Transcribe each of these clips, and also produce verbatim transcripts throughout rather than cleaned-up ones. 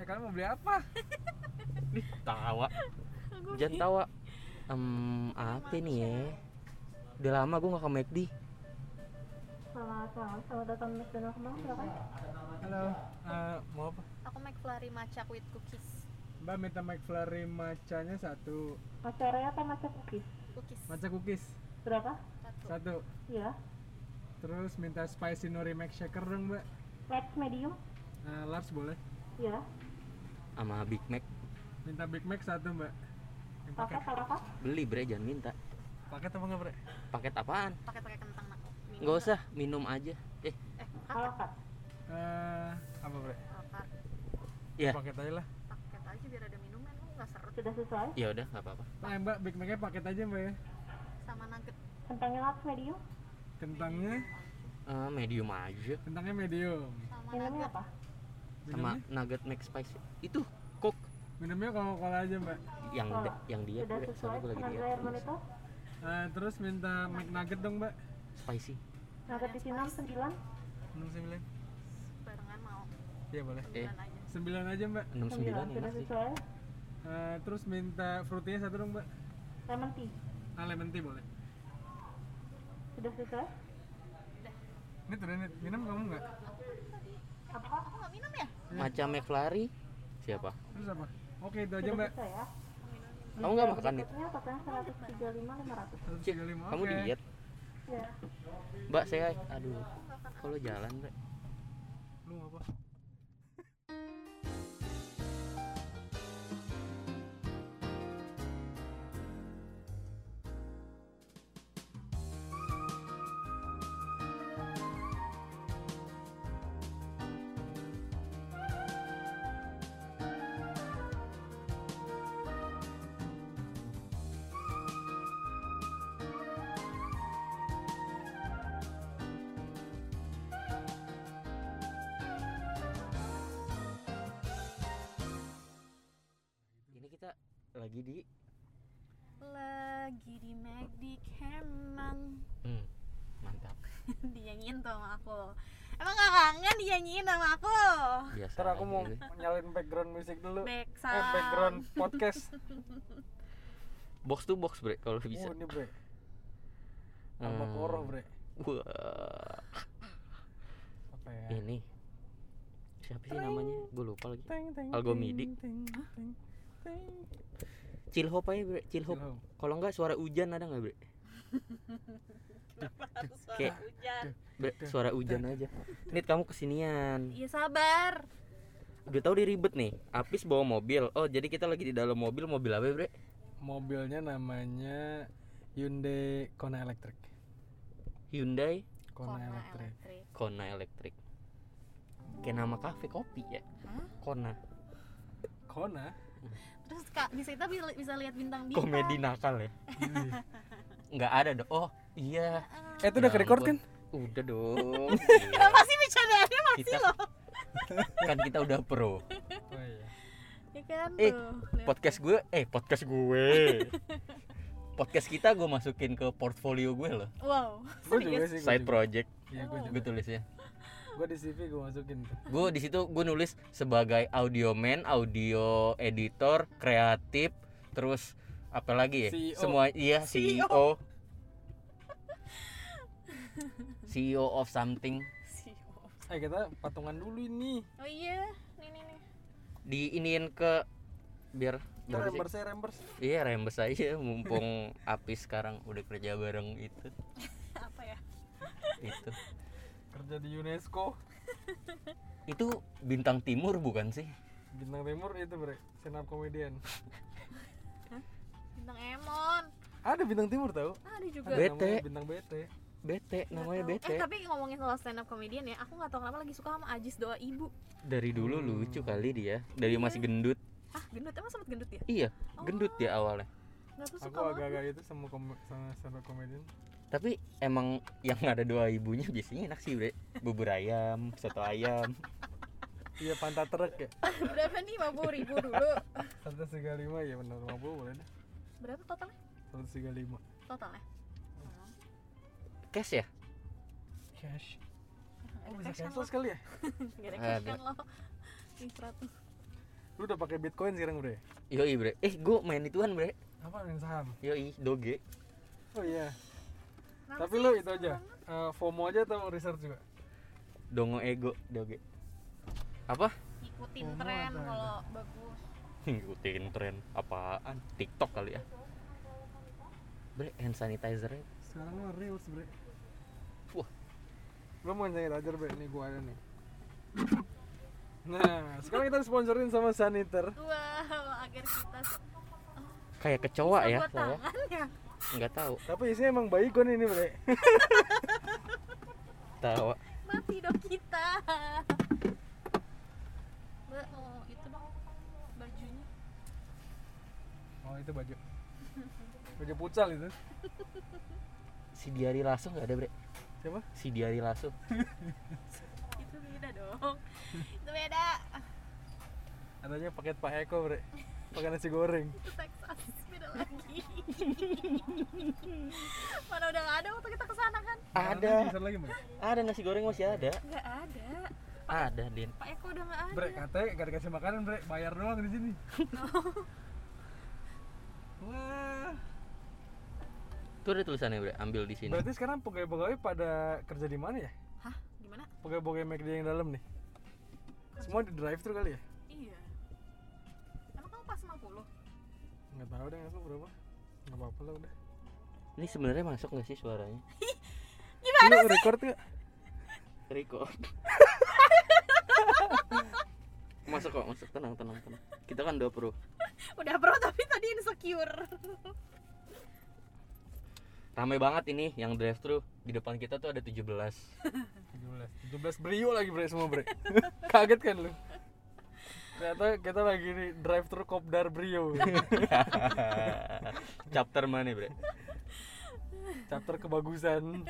kalian mau beli apa? Ih, tawa. Jangan tawa. Um, apa nih ya? Udah lama gue nggak ke McD. Selamat malam, selamat datang di McDonald kembang, silakan. Halo, uh, mau apa? Aku McFlurry matcha with cookies. Mbak minta McFlurry matchanya satu. Matcha Oreo atau matcha cookies? Cookies. Matcha cookies Berapa? Satu. satu. Iya. Terus minta spicy nori mac shaker dong mbak. Large medium? Uh, large boleh. Iya. Sama Big Mac. Minta Big Mac satu mbak. Yang Paket paket. berapa? Beli bre, jangan minta. Paket apa nggak bre? Paket apaan? Pakai pakai kentang nak. Minum Nggak usah, minum aja. Eh, Eh, Ala paket. carte. Uh, apa bre? Paket. ya. Paket aja lah. Paket aja biar ada minuman, lu nggak serut. Sudah sesuai? Ya udah, nggak apa-apa. Nah mbak Big Macnya paket aja mbak ya. Sama nugget. Kentangnya large medium? Kentangnya, Eh, medium aja. kentangnya medium. Sama Minumnya nugget. apa? Sama Minumnya, nugget Mac spicy. Itu Coke minumnya Coca-Cola aja mbak. yang Oh, dia- yang dia Sudah bre, sesuai soalnya gue lagi dengan diet. air monitor? Uh, terus minta McNugget dong mbak. Spicy. Nugget di sini sembilan? enam sembilan. Barengan mau. Iya boleh. Eh, Sembilan aja. sembilan aja mbak. enam sembilan Sudah enak sih. sesuai? Uh, terus minta fruitynya satu dong mbak. Lemon tea? Ah lemon tea boleh. Sudah sesuai? Ini tuh ini minum kamu nggak? Apa? Aku nggak minum ya? Macam McFlurry. Siapa? Terus apa? Oke itu aja Sudah mbak. sesuai ya? Kamu nggak makan nih? Tiketnya totalnya seratus tiga puluh lima lima ratus. seratus Cik, tiga puluh lima. kamu Oke. diet? Ya. Mbak, saya aduh. Kalau jalan, bre. Lu mau apa? Ini kita lagi di Lagi di McD Kemang. hmm, mantap. Dinyanyiin tuh sama aku. Emang gak kangen dinyanyiin sama aku? Biasa. Ntar aku mau aja. nyalain background musik dulu. Back Eh sound. background podcast. Box to box, bre, kalau bisa. Oh ini bre. Hmm. Almakoro bre. Wah. Apa ya? Ini siapa sih namanya? Gue lupa lagi. Teng, teng, Algomidi. teng, teng, teng, teng. Chillhop aja, bre. Chillhop. Chillhop. Kalau enggak suara hujan ada enggak, bre? Kenapa harus suara Kayak- hujan? Bre, suara hujan aja. Nit, kamu kesinian. Iya sabar. Udah tahu dia ribet nih. Apis bawa mobil. Oh, jadi kita lagi di dalam mobil. Mobil apa, bre? Mobilnya namanya Hyundai Kona Electric. Hyundai Kona, Kona Electric. elektrik. Kona Electric. Kayak nama kafe kopi ya. Hah? Kona. Kona. Terus kak bisa kita bisa, bisa lihat bintang-bintang. Komedi nakal ya. Nggak ada dong. Oh, iya. Eh itu udah Ya ke-record ampun. kan? Udah dong. Kenapa sih bercandaannya masih Kita loh? Iya. kan kita udah pro. Oh iya. Ya kan Eh, tuh. Lihat. Podcast gue, eh podcast gue. Podcast kita gue masukin ke portfolio gue loh. Wow. Gue juga sih. gua Side juga. project. Iya gue Gue juga. tulisnya. Gue di C V gue masukin tuh. Gue di situ gue nulis sebagai audio man, audio editor, kreatif, terus apa lagi ya? C E O. Semua iya C E O. C E O. C E O of something. Eh kita patungan dulu ini. Oh iya, nih nih nih. Diiniin ke biar Kita berapa sih? rembers ya rembers. Iya, rembes aja mumpung Apis sekarang udah kerja bareng itu. Apa ya? Itu. Kerja di UNESCO. Itu Bintang Timur bukan sih? Bintang Timur itu bre. Stand up comedian. Bintang Emon. Ada Bintang Timur tau? Ada juga. Ada Bet. namanya Bete. Bintang Bete. Bete, namanya Nggak tahu. Bete. Eh tapi ngomongin soal stand up comedian ya, aku nggak tahu kenapa lagi suka sama Ajis Doa Ibu. Dari dulu lucu kali dia, dari masih gendut. Ah gendut, emang sempet gendut ya? Iya, gendut dia awalnya. Nggak tahu Aku suka banget. agak-agak itu sama kom- sama stand up comedian. Tapi emang yang ada dua ibunya biasanya enak sih, bre. Bubur ayam, soto ayam. Iya pantat truk ya. Berapa nih? lima puluh ribu dulu. seratus tiga puluh lima ya benar lima puluh boleh deh. Berapa totalnya? seratus tiga puluh lima. Totalnya? Cash ya? Cash. Oh Ada bisa cash kan cancel lo? sekali ya? Gak ada cash Ada. kan lo? Ini seratus. Lu udah pakai Bitcoin sekarang, Bre? Yoi, Bre. Eh, gua main ituan, Bre. Apa main saham? Yoi, Doge. Oh iya. Kenapa Tapi sih? lu itu Seru aja. banget. Uh, FOMO aja atau research juga? Dongo ego, Doge. Apa? Ikutin Oh, tren ada, kalau bagus. Ngikutin tren apaan? TikTok kali ya. Bre, hand sanitizer. Sekarang mah reels, Bre. Wah. Lu mau sanitizer, Bre? Nih gua ada nih. Nah, sekarang kita sponsorin sama Saniter. Wow, agar kita Kayak kecoa bisa ya, buat saya. tangan ya. Enggak tahu. Tapi isinya emang baygon ini, Bre. Tahu. Mati dong kita. Mbak, oh itu dong bajunya. Oh, itu baju. Baju futsal itu. Si Diari Lasso enggak ada, Bre. Siapa? Si Diari Lasso. Itu beda dong. Itu beda. Adanya paket Pak Eko, Bre. Pakai nasi goreng. Itu Texas beda lagi. Mana udah nggak ada waktu kita kesana kan? Ada. Bisa lagi, Bre. Ada nasi goreng masih ada. Nggak ada. Ada, Din. Pak Eko udah nggak ada. Bre, katanya gak dikasih makanan, Bre. Bayar doang di sini. Wah. Tuh ada tulisannya, Bre. Ambil di sini. Berarti sekarang pegawai-pegawai pada kerja di mana ya? Hah? Gimana? Pegawai-pegawai McD yang dalam nih. Semua di drive thru kali ya? Iya. Emang kamu pas lima puluh? Nggak tahu deh aku berapa. Nggak apa-apa lah udah. Ini sebenarnya masuk nggak sih suaranya? Gimana Ini sih? record nggak? Record. Masuk kok, masuk. Tenang, tenang, tenang. Kita kan udah pro. Udah bro, tapi tadi insecure. Ramai banget ini yang drive thru. Di depan kita tuh ada tujuh belas. tujuh belas. tujuh belas Brio lagi, Bre, semua, Bre. Kaget kan lu? Ternyata kita lagi di drive thru Kopdar Brio. Chapter mana, Bre? Chapter kebagusan.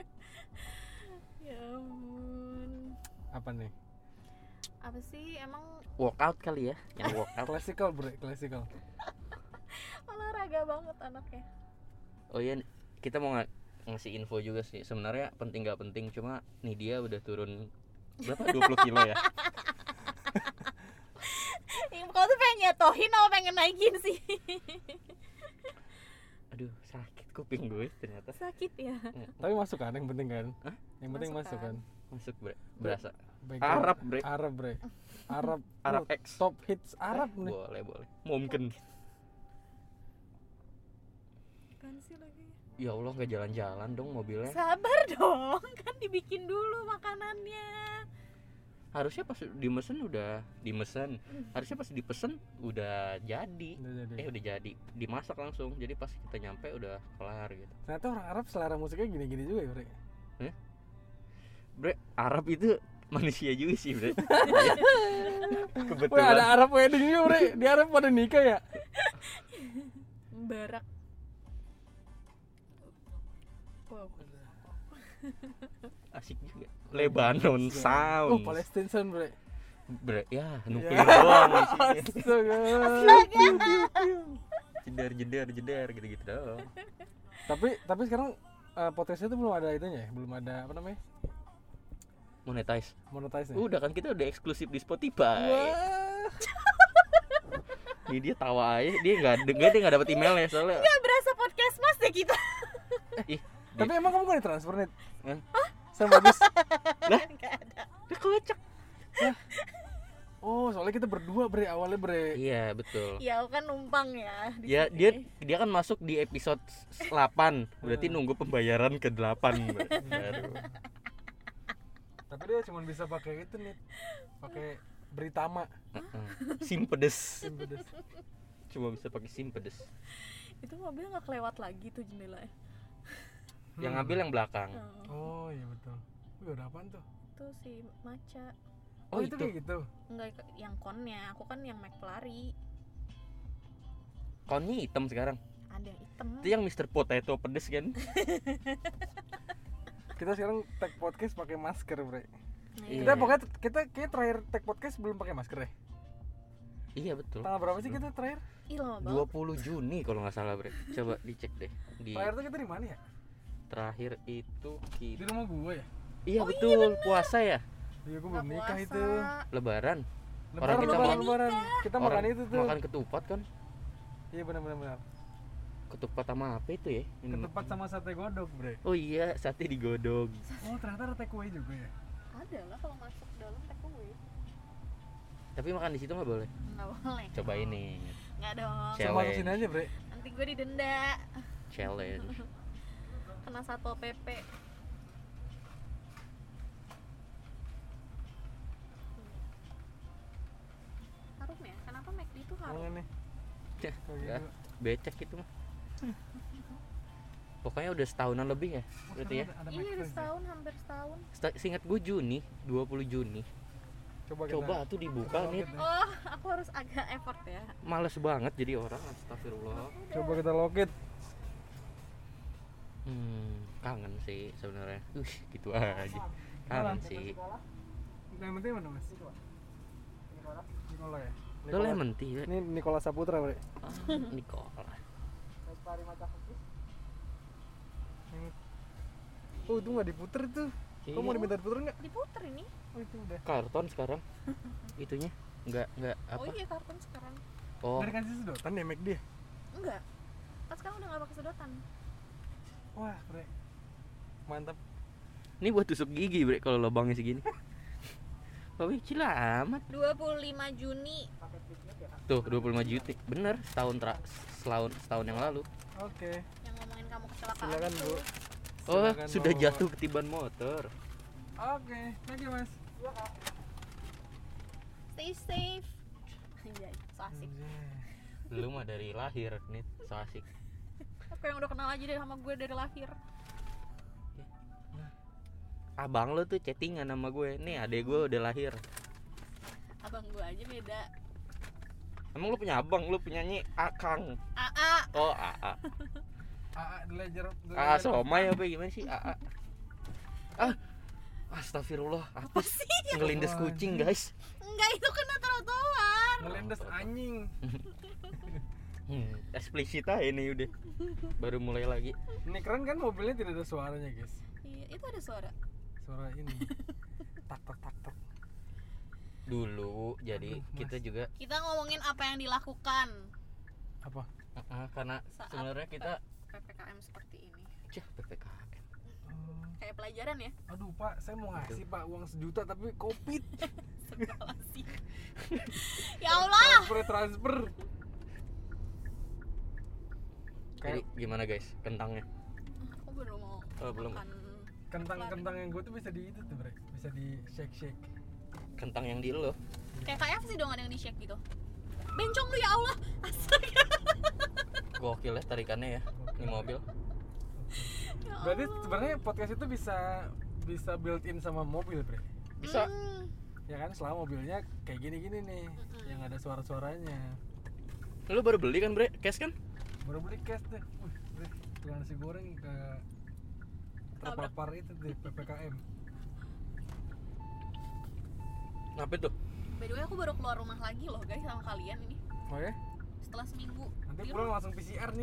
Ya ampun. Apa nih? Apa sih emang Workout kali ya, yang workout. Classical, Bre, classical. olahraga banget anaknya. Oh iya, kita mau ng- ngasih info juga sih. Sebenarnya penting nggak penting, cuma nih dia udah turun berapa? dua puluh kilo ya. Kau tuh pengen nyetohin apa pengen naikin sih? Aduh, sakit kuping gue ternyata. Sakit ya. Tapi masuk kan, yang penting kan? Hah? Yang penting Masuk masuk kan? kan? Masuk, Bre. Berasa. Background- Arab, Bre. Arab, Bre. Arab. Arab Oh, X. top hits Arab Eh, nih. Boleh, boleh. Mungkin. Kan sih lagi. Ya Allah, nggak jalan-jalan dong mobilnya. Sabar dong, kan dibikin dulu makanannya. Harusnya pas dimesen udah dimesen. Harusnya pas dipesen udah jadi. Udah jadi. Eh udah jadi, dimasak langsung. Jadi pas kita nyampe udah kelar gitu. Ternyata orang Arab selera musiknya gini-gini juga ya, Bre. Bre, Arab itu manusia juga sih, Bre. Kebetulan. Wah, ada Arab wedding juga, Bre. Di Arab pada nikah ya? Barak. Wow. Asik juga. Lebanon Oh, Sound. Palestine Sound, Bre. Bre, ya nuklir Ya. doang isinya. Astaga. Jedar jedar jedar gitu-gitu doang. Tapi tapi sekarang uh, podcastnya tuh belum ada itunya ya? Belum ada apa namanya? Monetize. Monetize-nya. Udah kan kita udah eksklusif di Spotify. Wah. Nih dia tawa aja, dia nggak dengar, dia nggak dapet emailnya soalnya. Gak berasa podcast mas deh kita. Ih, Tapi emang kamu gak ditransfer nih? Hah? Sama bagus. lah, Gak ada. dia kocak. Oh, soalnya kita berdua, Bre, awalnya, Bre. Iya betul. Ya aku kan numpang ya. di Ya sini. dia dia kan masuk di episode delapan, berarti nunggu pembayaran ke delapan. Baru. Tapi dia cuma bisa pakai itu nih. Pakai Britama. Sim pedes. Sim pedes. Cuma bisa pakai sim pedes. Itu mobil nggak kelewat lagi tuh jendelanya. Yang ngambil yang belakang. Oh, Oh, iya betul. Wih, udah apaan tuh? itu si Maca. Oh, itu kayak gitu. Enggak yang konnya, aku kan yang McFlurry. Konnya hitam sekarang. Ada yang hitam. Itu yang mister Potato pedes kan? Kita sekarang tag podcast pakai masker, Bre. Iya. Kita pokoknya kita kayak terakhir tag podcast belum pakai masker ya. Iya betul. Tanggal berapa sih kita terakhir? Ih lama dua banget. puluh Juni kalau nggak salah, Bre. Coba dicek deh. Di Terakhir tuh kita di mana ya? terakhir itu Di kita. rumah gue ya. Iya betul, puasa ya. Iya, gue Nggak belum nikah puasa. itu. Lebaran. Lebaran, Orang kita lebaran, mau- lebaran. Kita makan Orang itu tuh. makan ketupat kan? Iya benar benar benar. Ketupat sama apa itu ya? Ini- Ketupat sama sate godok, Bre. Oh iya, sate digodok. Oh, ternyata ada take away juga ya. Ada lah kalau masuk dalam take away. Tapi makan di situ nggak boleh. Nggak boleh. Coba ini Nggak dong. Cewek. Cuma kesini aja, Bre. Nanti gue didenda. challenge. Kena Satpol P P. Harum ya? Kenapa McD itu harum? Mana nih? Ya, Kayak enggak. gitu. Becek itu mah. Pokoknya udah setahunan lebih ya, Oh, berarti ya. sekarang ada- ada Iya udah McFlurry. setahun, hampir setahun. Seta- Seingat gue Juni, dua puluh Juni. Coba kita. Coba tuh dibuka Coba nih. kita- Oh, aku harus agak effort ya. Males banget jadi orang, astagfirullah. Coba kita logit. Hmm, kangen sih sebenarnya. Uh, gitu aja. Kangen sih. Yang penting mana, Mas? Nikola ya. Lo lemon tea. Ini Nikola Saputra, Bre. Ah, Nikola. Oh, itu nggak diputer itu. Kamu mau Iya. diminta diputer nggak? Diputer ini. Oh, itu udah. Karton sekarang. Itunya enggak enggak apa? Oh iya karton sekarang. Oh, Dari kasih sedotan ya, McD. ya? Enggak. Kan sekarang udah nggak pakai sedotan. Wah, Bre. Mantap. ini buat tusuk gigi, Bre, kalau lubangnya segini. Oh, kecil amat. dua puluh lima Juni. Tuh, dua puluh lima juta. Bener, setahun tra- setahun setahun yang lalu. Oke. Yang ngomongin kamu kecelakaan Silakan, itu. Bu. Oh, Silakan sudah bawa. jatuh ketiban motor. Oke, thank you, Mas. Stay safe. Anjay, so asik. Anjay. Lu mah dari lahir nih, so asik. Aku yang udah kenal aja deh sama gue dari lahir. Abang lu tuh chattingan sama gue. Nih, adek gue udah lahir. Abang gue aja beda. Emang lu punya abang, lu punya nyi Akang. A A. Oh, A A. A A the Legend. the A A Legend of somai Fun. apa gimana sih? A A. Ah. Astagfirullah, Apa apa sih? ngelindes kucing, guys. Enggak, itu kena trotoar. Ngelindes anjing. Hmm, eksplisit aja ini udah. Baru mulai lagi. Ini keren kan mobilnya tidak ada suaranya, guys. Iya, itu ada suara. Suara ini. Tak tak tak tak. Dulu jadi Aduh, Mas. kita juga Kita ngomongin apa yang dilakukan Apa? uh, karena Saat sebenarnya kita P P K M seperti ini. cih P P K M. Hmm, Kayak pelajaran ya. aduh, Pak, saya mau ngasih, Pak, uang sejuta tapi Covid. Segala sih. Ya Allah. Transfer transfer. Jadi Kayak gimana guys kentangnya? Aku baru mau Oh, belum. makan kentang-kentang yang gue tuh bisa di itu tuh, Bre. Bisa di shake-shake. Kentang yang di lo. kayak K F C dong, ada yang di shake gitu. Bencong lu ya Allah. Astaga. Gokil ya tarikannya ya. Ini mobil. Ya Berarti Allah. sebenarnya podcast itu bisa bisa built in sama mobil, Bre. Bisa. Hmm. Ya kan, selama mobilnya kayak gini-gini nih, Mm-mm. yang ada suara-suaranya. Lu baru beli kan, Bre? Cash kan? Baru beli cash deh. Wih, Bre, tukang nasi goreng ke terpapar itu deh P P K M. Ngapain tuh? By the way, aku baru keluar rumah lagi loh guys sama kalian ini Oh ya? setelah seminggu. Nanti Di pulang rumah. langsung P C R nih.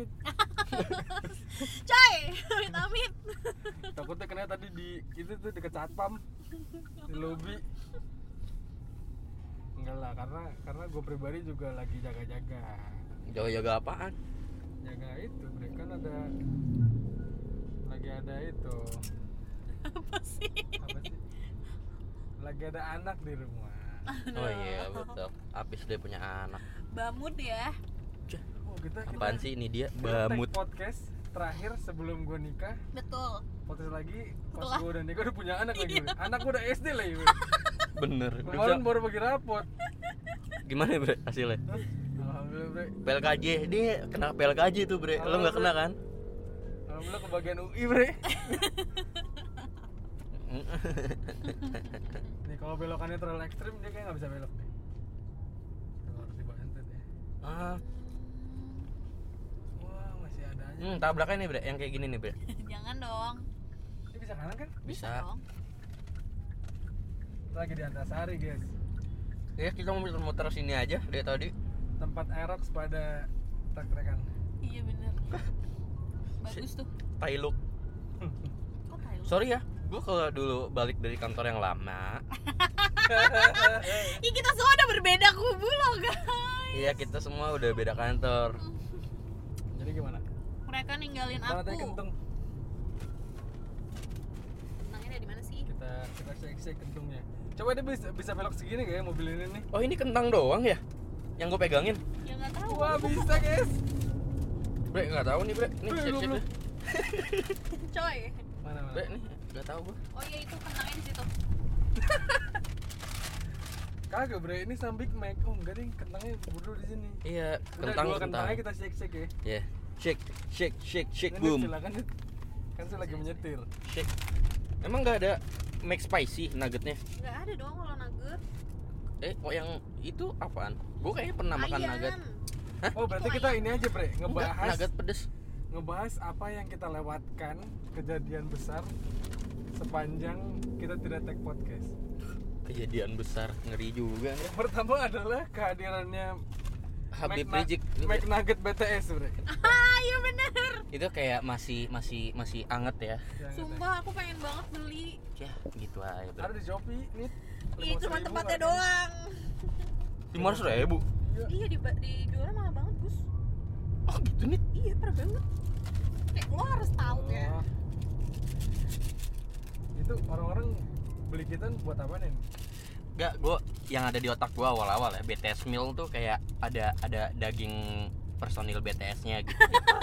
Coy, amit amit. Takutnya kena tadi di itu tuh deket satpam di lobi. Enggak lah, karena karena gue pribadi juga lagi jaga-jaga. Jaga-jaga apaan? Jaga itu, Bre, kan ada lagi ada itu. Apa sih? Apa sih? Lagi ada anak di rumah. Oh iya betul. Abis dia punya anak. Bamut ya. Oh, kita Apaan kita, sih ini dia? kita take Bamut. podcast terakhir sebelum gue nikah. Betul. Podcast lagi pas Setelah- gue udah nikah udah punya anak lagi. Iya. Bre. Anak gue udah S D lagi. Bre. Bener. Udah Kemarin bisa- baru bagi rapot. Gimana ya, Bre, hasilnya? Hah? Alhamdulillah, Bre. P L K J, dia kena P L K J tuh, Bre. Lo nggak kena kan? Alhamdulillah kebagian U I, Bre. Nih kalau belokannya terlalu ekstrim dia kayak nggak bisa belok nih. Tuh, harus dibantu deh. Ah, Wah, masih ada aja. hmm, tabrakan nih, Bre, yang kayak gini nih, Bre. Jangan dong. Ini bisa kanan kan? Bisa. Dong. Kita lagi di Antasari, guys. Ya, kita mau muter-muter sini aja dari tadi. Tempat Aerox pada trek-trekan. Iya bener. Bagus tuh. Tailuk. Kok Thailand? Sorry ya, gue kalau dulu balik dari kantor yang lama, Ih, kita semua udah berbeda Iya, kita semua udah beda kantor. Jadi gimana? Mereka ninggalin Mana tadi aku. kentung? Kentangnya ada di mana sih? Kita kita cek-cek kentungnya. Coba dia bisa bisa belok segini kayak mobil ini nih. Oh, ini kentang doang ya? Yang gue pegangin? Ya nggak tahu. Wah, bisa, guys. Bre, nggak tahu nih, Bre. Nih, Eh, cek-cek goblok. deh. Coy. Mana mana? Bre, nih, nggak tahu gue. Oh iya itu kentangnya di situ. Kagak, Bre. Ini sama Big Mac. Oh, enggak ding, kentangnya buru di sini. Iya, Udah kentang dua kentang. kentangnya kita cek-cek ya. Ya, shake, shake, shake, shake, Ini boom, silakan Dit. Kan saya lagi menyetir. shake. Emang nggak ada Mac spicy nuggetnya? Nggak ada dong kalau nugget. Eh, oh yang itu apaan? Gue kayaknya pernah makan Ayam. nugget. Oh, berarti kita ini aja, Bre, Enggak, ngebahas nugget pedes. ngebahas apa yang kita lewatkan, kejadian besar sepanjang kita tidak take podcast. Kejadian besar, ngeri juga nih. Yang pertama adalah kehadirannya Habib Mac- Rizik. Mac Nugget B T S, Bre. Ah iya bener. Itu kayak masih masih masih anget ya. Yang Sumpah aku pengen banget beli. Ya, gitu aja. ada di Shopee nih. Iya cuma lima ratus ribu tempatnya harganya. doang. lima ratus ribu. Iya. Iya di dijualnya mahal banget Gus. Oh gitu nih. Iya parah banget. Kayak lo harus tahu ya. Oh. Itu orang-orang beli kita buat apa nih? Enggak, gue yang ada di otak gue awal-awal ya, B T S meal tuh kayak ada ada daging personil B T S-nya gitu.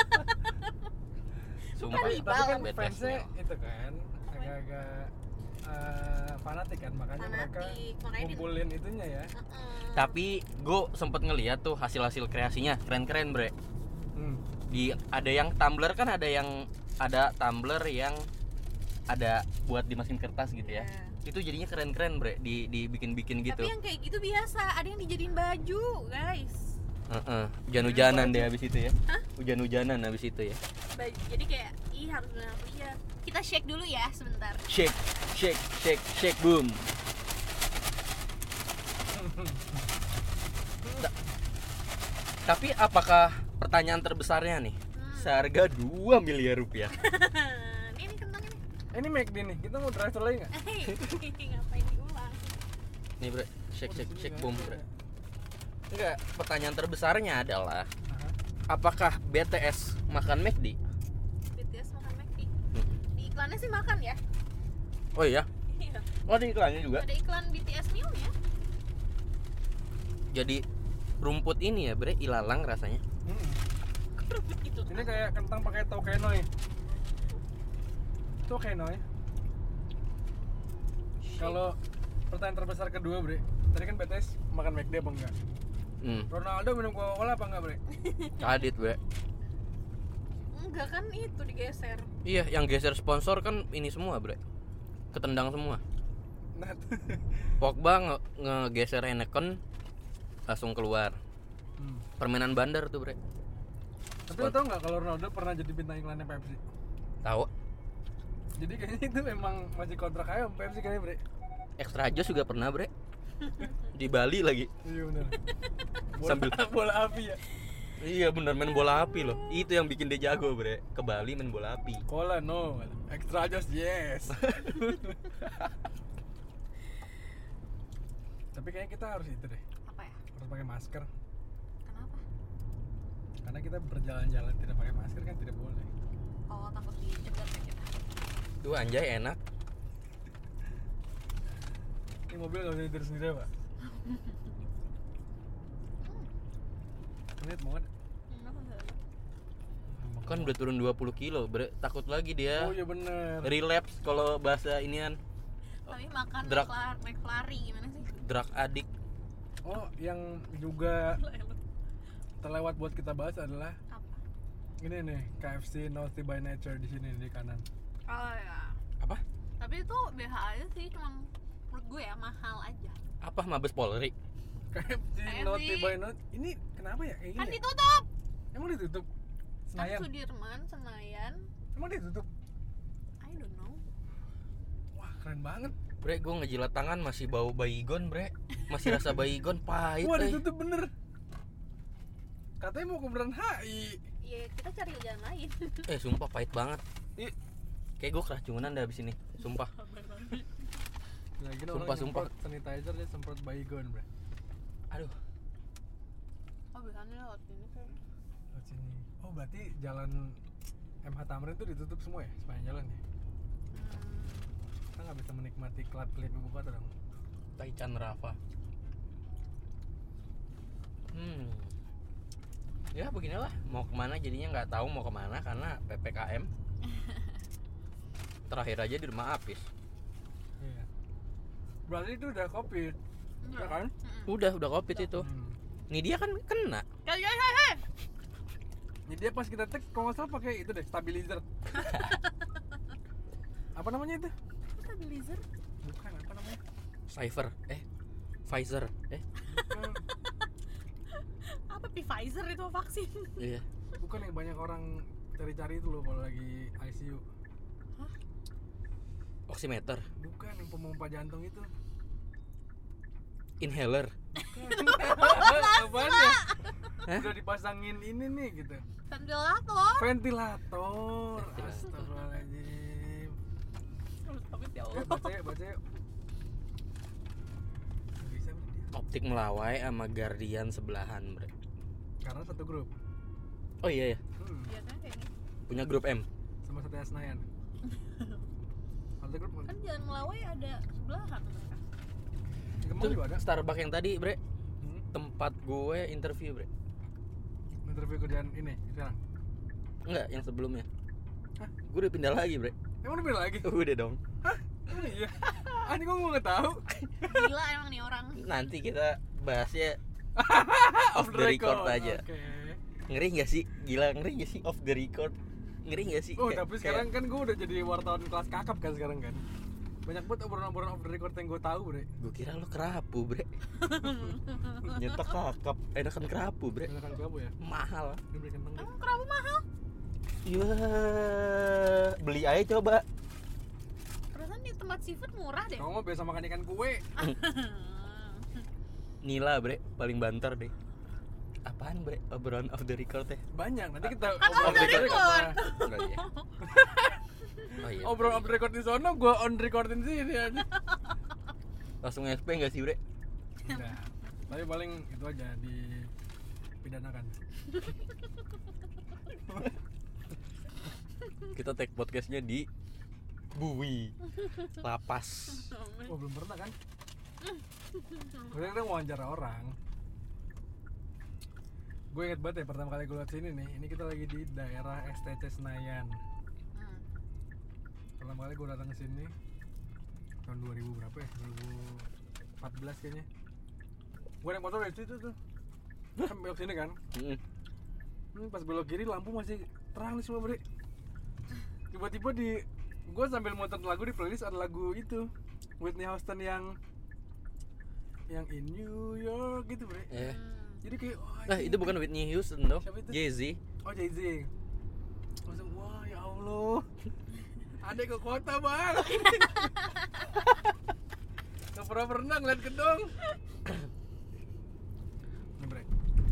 Sumpah, Tapi, Kanibal. tapi kan B T S fansnya meal. itu kan agak-agak eh, fanatik kan, makanya mereka Fanatik, makanya di- ngumpulin itunya ya. Heeh. Tapi gue sempet ngeliat tuh hasil-hasil kreasinya keren-keren, Bre. Hmm. Di ada yang tumbler kan, ada yang ada tumbler yang ada buat dimasukin kertas gitu ya. Iya. Itu jadinya keren-keren, Bre, di dibikin-bikin gitu. Tapi yang kayak gitu biasa, ada yang dijadiin baju, guys. Heeh, hujan-hujanan deh habis itu ya. Hujan-hujanan habis itu ya. Baju. Jadi kayak ih harus beli apa ya. Kita shake dulu ya sebentar. Shake, shake, shake, shake, boom. Ta- Tapi apakah pertanyaan terbesarnya nih? Hmm. Seharga dua miliar rupiah. Ini nih kentangnya nih. Eh, ini McD nih, kita mau drive lagi nggak? Hei, ngapain diulang? Nih, Bre, shake, Oh, di shake, sini shake, kan boom, ada. Bre. Enggak, pertanyaan terbesarnya adalah Aha. apakah B T S makan McD? B T S makan McD. Di iklannya sih makan ya. Oh iya, Iya. oh ada iklannya juga. Ada iklan B T S meal-nya. Jadi rumput ini ya, Bre, ilalang rasanya. Hmm. Rebut gitu. Ini kayak kentang pakai tokenoy. Tokenoy. Kalau pertanyaan terbesar kedua, Bre, tadi kan B T S makan McD apa enggak? Hmm, Ronaldo minum Coca-Cola apa enggak, Bre? kadit, Bre. Enggak kan itu digeser. Iya, yang geser sponsor kan ini semua, Bre. Ketendang semua. Nah, Pogba nge ngegeser Heineken langsung keluar. hmm. Permainan bandar tuh, Bre. Tapi lo tau nggak kalau Ronaldo pernah jadi bintang iklannya Pepsi? Tahu? Jadi kayaknya itu memang masih kontrak aja sama Pepsi kayaknya, Bre. Extra Joss juga pernah, Bre. Di Bali lagi. Iya benar. Bola, Sambil- bola api ya. Iya bener, main bola api loh. Itu yang bikin dia jago, Bre. Ke Bali main bola api. Cola no, extra just yes. Tapi kayaknya kita harus itu deh, Apa ya? harus pakai masker. Kenapa? Karena kita berjalan-jalan tidak pakai masker kan tidak boleh. Oh, takut dicegat ya kita. Tuh anjay enak. Ini mobil nggak bisa nyetir sendiri, Pak. Lihat mau ada. Kan udah turun dua puluh kilo, Bre. Takut lagi dia Oh iya bener. relapse kalau bahasa inian, Tapi makan Drug. McFlurry, McFlurry gimana sih? drug addict. Oh, yang juga terlewat buat kita bahas adalah Apa? ini nih, K F C Naughty by Nature di sini di kanan. Oh ya. Apa? Tapi itu B H aja sih, cuma menurut gue ya mahal aja. Apa Mabes Polri? K F C K F C. Naughty by Nature. Ini kenapa ya kayak Kan gini? ya? ditutup. Emang ditutup? Kan Senayan. Sudirman, Senayan. Emang ditutup? I don't know. Wah, keren banget. Bre, gue ngejilat tangan masih bau baygon, Bre. Masih rasa baygon pahit. Wah, eh. ditutup bener. Katanya mau ke Bundaran H I. Ya kita cari jalan lain. Eh, sumpah pahit banget. Ih, Kayak gue keracunan dah abis ini. Sumpah. lagi Sumpah, sumpah. sanitizer dia semprot baygon, Bre. Aduh. biasanya lewat sini kan. Lewat sini. Oh berarti jalan M H Tamrin itu ditutup semua ya sepanjang jalan ya? Hmm. Kita nggak bisa menikmati klip-klip ibu kota dong. Taichan Rafa. Hmm. Ya beginilah, mau kemana jadinya nggak tahu mau kemana karena P P K M. Terakhir aja di rumah Apis. Iya. Berarti itu udah covid, ya kan? Udah, udah covid itu. Hmm. Nih dia kan kena. Guys, guys, guys, guys. Jadi dia pas kita tag kalau nggak salah pakai itu deh, stabilizer. Apa namanya itu? Stabilizer. Bukan, apa namanya? Cypher, eh, Pfizer, eh, Bukan, Apa Pfizer itu vaksin? iya. bukan yang banyak orang cari-cari itu loh kalau lagi I C U. Oximeter, Bukan yang pemompa jantung itu. inhaler. Apaan ya? Hah? Udah dipasangin ini nih gitu. Ventilator. Ventilator. Ventilator. Astagfirullahaladzim. Tapi ya Eh, Allah. baca ya, baca yuk. Nggak bisa bre, dia. Optik Melawai sama Guardian sebelahan, bre. Karena satu grup. Oh iya ya, Hmm. Biasanya kayak gitu. punya grup M. Sama Satya Senayan. Satu grup. Kan jalan Melawai ada sebelahan mereka. Kemang Tuh, juga ada. Starbucks yang tadi, bre. Hmm. Tempat gue interview, bre. Interview kerjaan ini sekarang. Enggak, yang sebelumnya. Hah? Gue udah pindah lagi, bre. Emang udah pindah lagi? Udah dong. Emang iya. Ah, ini gua nggak tahu. Gila emang nih orang. Nanti kita bahasnya off the record aja. Oke. Ngeri gak sih? Gila, ngeri gak sih off the record? Ngeri gak sih? Oh, Kayak- tapi sekarang kan gua udah jadi wartawan kelas kakap kan sekarang kan. Banyak banget obrolan-obrolan off the record yang gua tahu, Bre. Gue kira lo kerapu, bre. Nyetak kakap, enakan kerapu, bre. Enakan kamu ya? Mahal. Ini beli kentang deh. Emang kerabu mahal? Iya, beli aja coba. Perasaan di tempat seafood murah deh. Kamu mah biasa makan ikan kue. Nila, bre, paling banter deh. Apaan, bre? Obrolan off the record teh? Banyak. Nanti kita Kan obrol off the record. record. Enggak ya? Oh iya. Obrol off the record di sono, gua on recordin sini aja. Langsung S P enggak sih, bre? Enggak. Tapi paling itu aja dipidanakan. Kita take podcastnya di Bui Lapas. Oh, belum pernah kan? Gue kan wawancara orang. Gue inget banget ya pertama kali gue liat sini nih. Ini kita lagi di daerah S T C Senayan. Hmm. Pertama kali gue datang ke sini tahun dua ribu berapa ya? dua ribu empat belas kayaknya. Gue naik motor dari situ tuh. Kan belok sini kan. Mm. Hmm, pas belok kiri lampu masih terang nih semua, Bre. Tiba-tiba di gue sambil muter lagu di playlist ada lagu itu Whitney Houston yang yang in New York gitu, Bre. Eh. Jadi kayak wah, Nah, ini- itu bukan Whitney Houston dong. Siapa itu? Jay-Z. Oh, Jay-Z. Langsung wah ya Allah. Ada ke kota, Bang. Gak pernah pernah ngeliat gedung. Nih, Bre.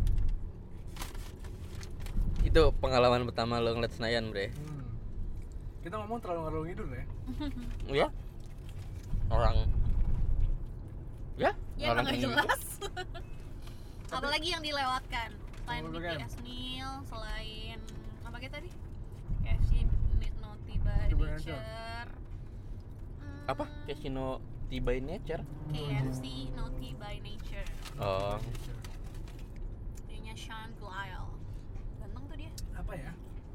Itu pengalaman pertama lo ngeliat Senayan, bre. Hmm. Kita ngomong terlalu ngalor ngidul ya. Ya? Orang Ya? Ya emang gak ini. jelas. Apalagi yang dilewatkan selain Oh, B bukan. T S Meal, selain apa kayak tadi? K F C Naughty by Naughty by Nature. Hmm, Apa? Casino Tiba Nature. K F C Naughty by Nature. Oh. Dia Sean Glyle. Ganteng tuh dia. Apa ya?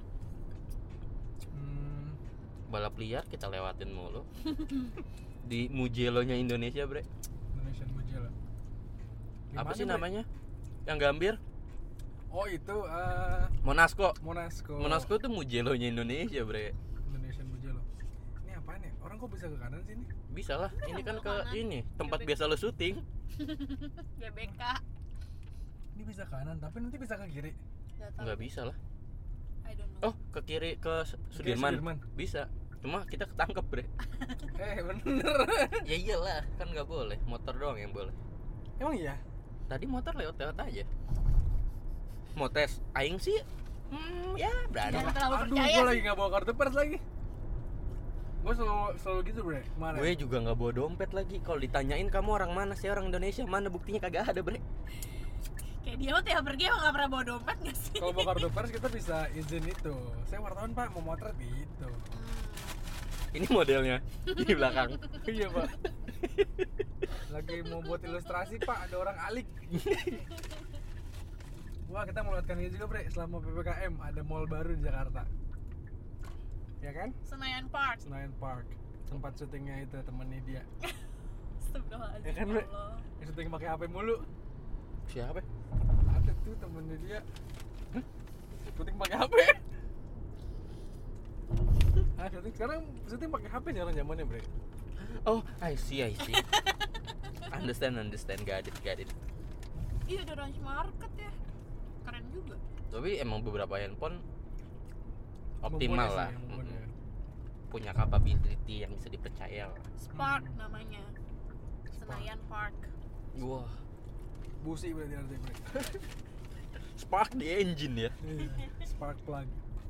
Hmm, Balap liar kita lewatin mulu. Di Mugello-nya Indonesia, bre. Indonesian Mugello. Apa Gimana, sih Bre? namanya? Yang Gambir? Oh itu uh, Monasco. Monasco. Monasco tuh Mugello-nya Indonesia, bre. Indonesian Mugello. Ini apaan ya? Orang kok bisa ke kanan sih ini? Bisa lah. Ini kan belok ke kanan. ini tempat Bebek. biasa lo syuting. G B K. Ini bisa ke kanan, tapi nanti bisa ke kiri. Gak tahu. Nggak bisa lah. I don't know. Oh, ke kiri ke Sudirman. Sudirman. Bisa. Cuma kita ketangkep, bre. Eh bener. Ya iyalah, kan nggak boleh. Motor doang yang boleh. Emang iya? Tadi motor lewat-lewat aja. Mau tes, aing sih, hmm, ya berani Jangan lah. terlalu Aduh, percaya gue sih. lagi gak bawa kartu pers lagi. Gue selalu selalu gitu, Bre. Kemarin. Gue juga nggak bawa dompet lagi. Kalau ditanyain kamu orang mana, saya orang Indonesia, mana buktinya kagak ada, bre. Kayak dia mah tiap pergi emang gak pernah bawa dompet gak sih? Kalau bawa kartu pers kita bisa izin itu. Saya wartawan pak, mau motret gitu. Ini modelnya di belakang. Iya pak. Lagi mau buat ilustrasi pak, ada orang alik. Wah kita melewatkan ini juga bre, selama P P K M ada mall baru di Jakarta. Ya kan? Senayan Park. Senayan Park. Tempat syutingnya itu temennya dia. Astagfirullahaladzim. Ya kan bre? Allah. Yang syuting pakai H P mulu. Siapa? Ada tuh temennya dia. Hah? Syuting pakai H P. Ah, syuting sekarang syuting pakai H P nih orang zamannya bre. Oh, I see, I see. Understand, understand, got it, got it. Iya ada Ranch Market ya. Keren juga. Tapi emang beberapa handphone optimal Mumpuni lah, sih, mumpuni ya. punya capability yang bisa dipercaya lah. Spark Hmm. namanya. Senayan Park. Wah, Busi berarti artinya bre. spark di engine ya. Iya, spark plug.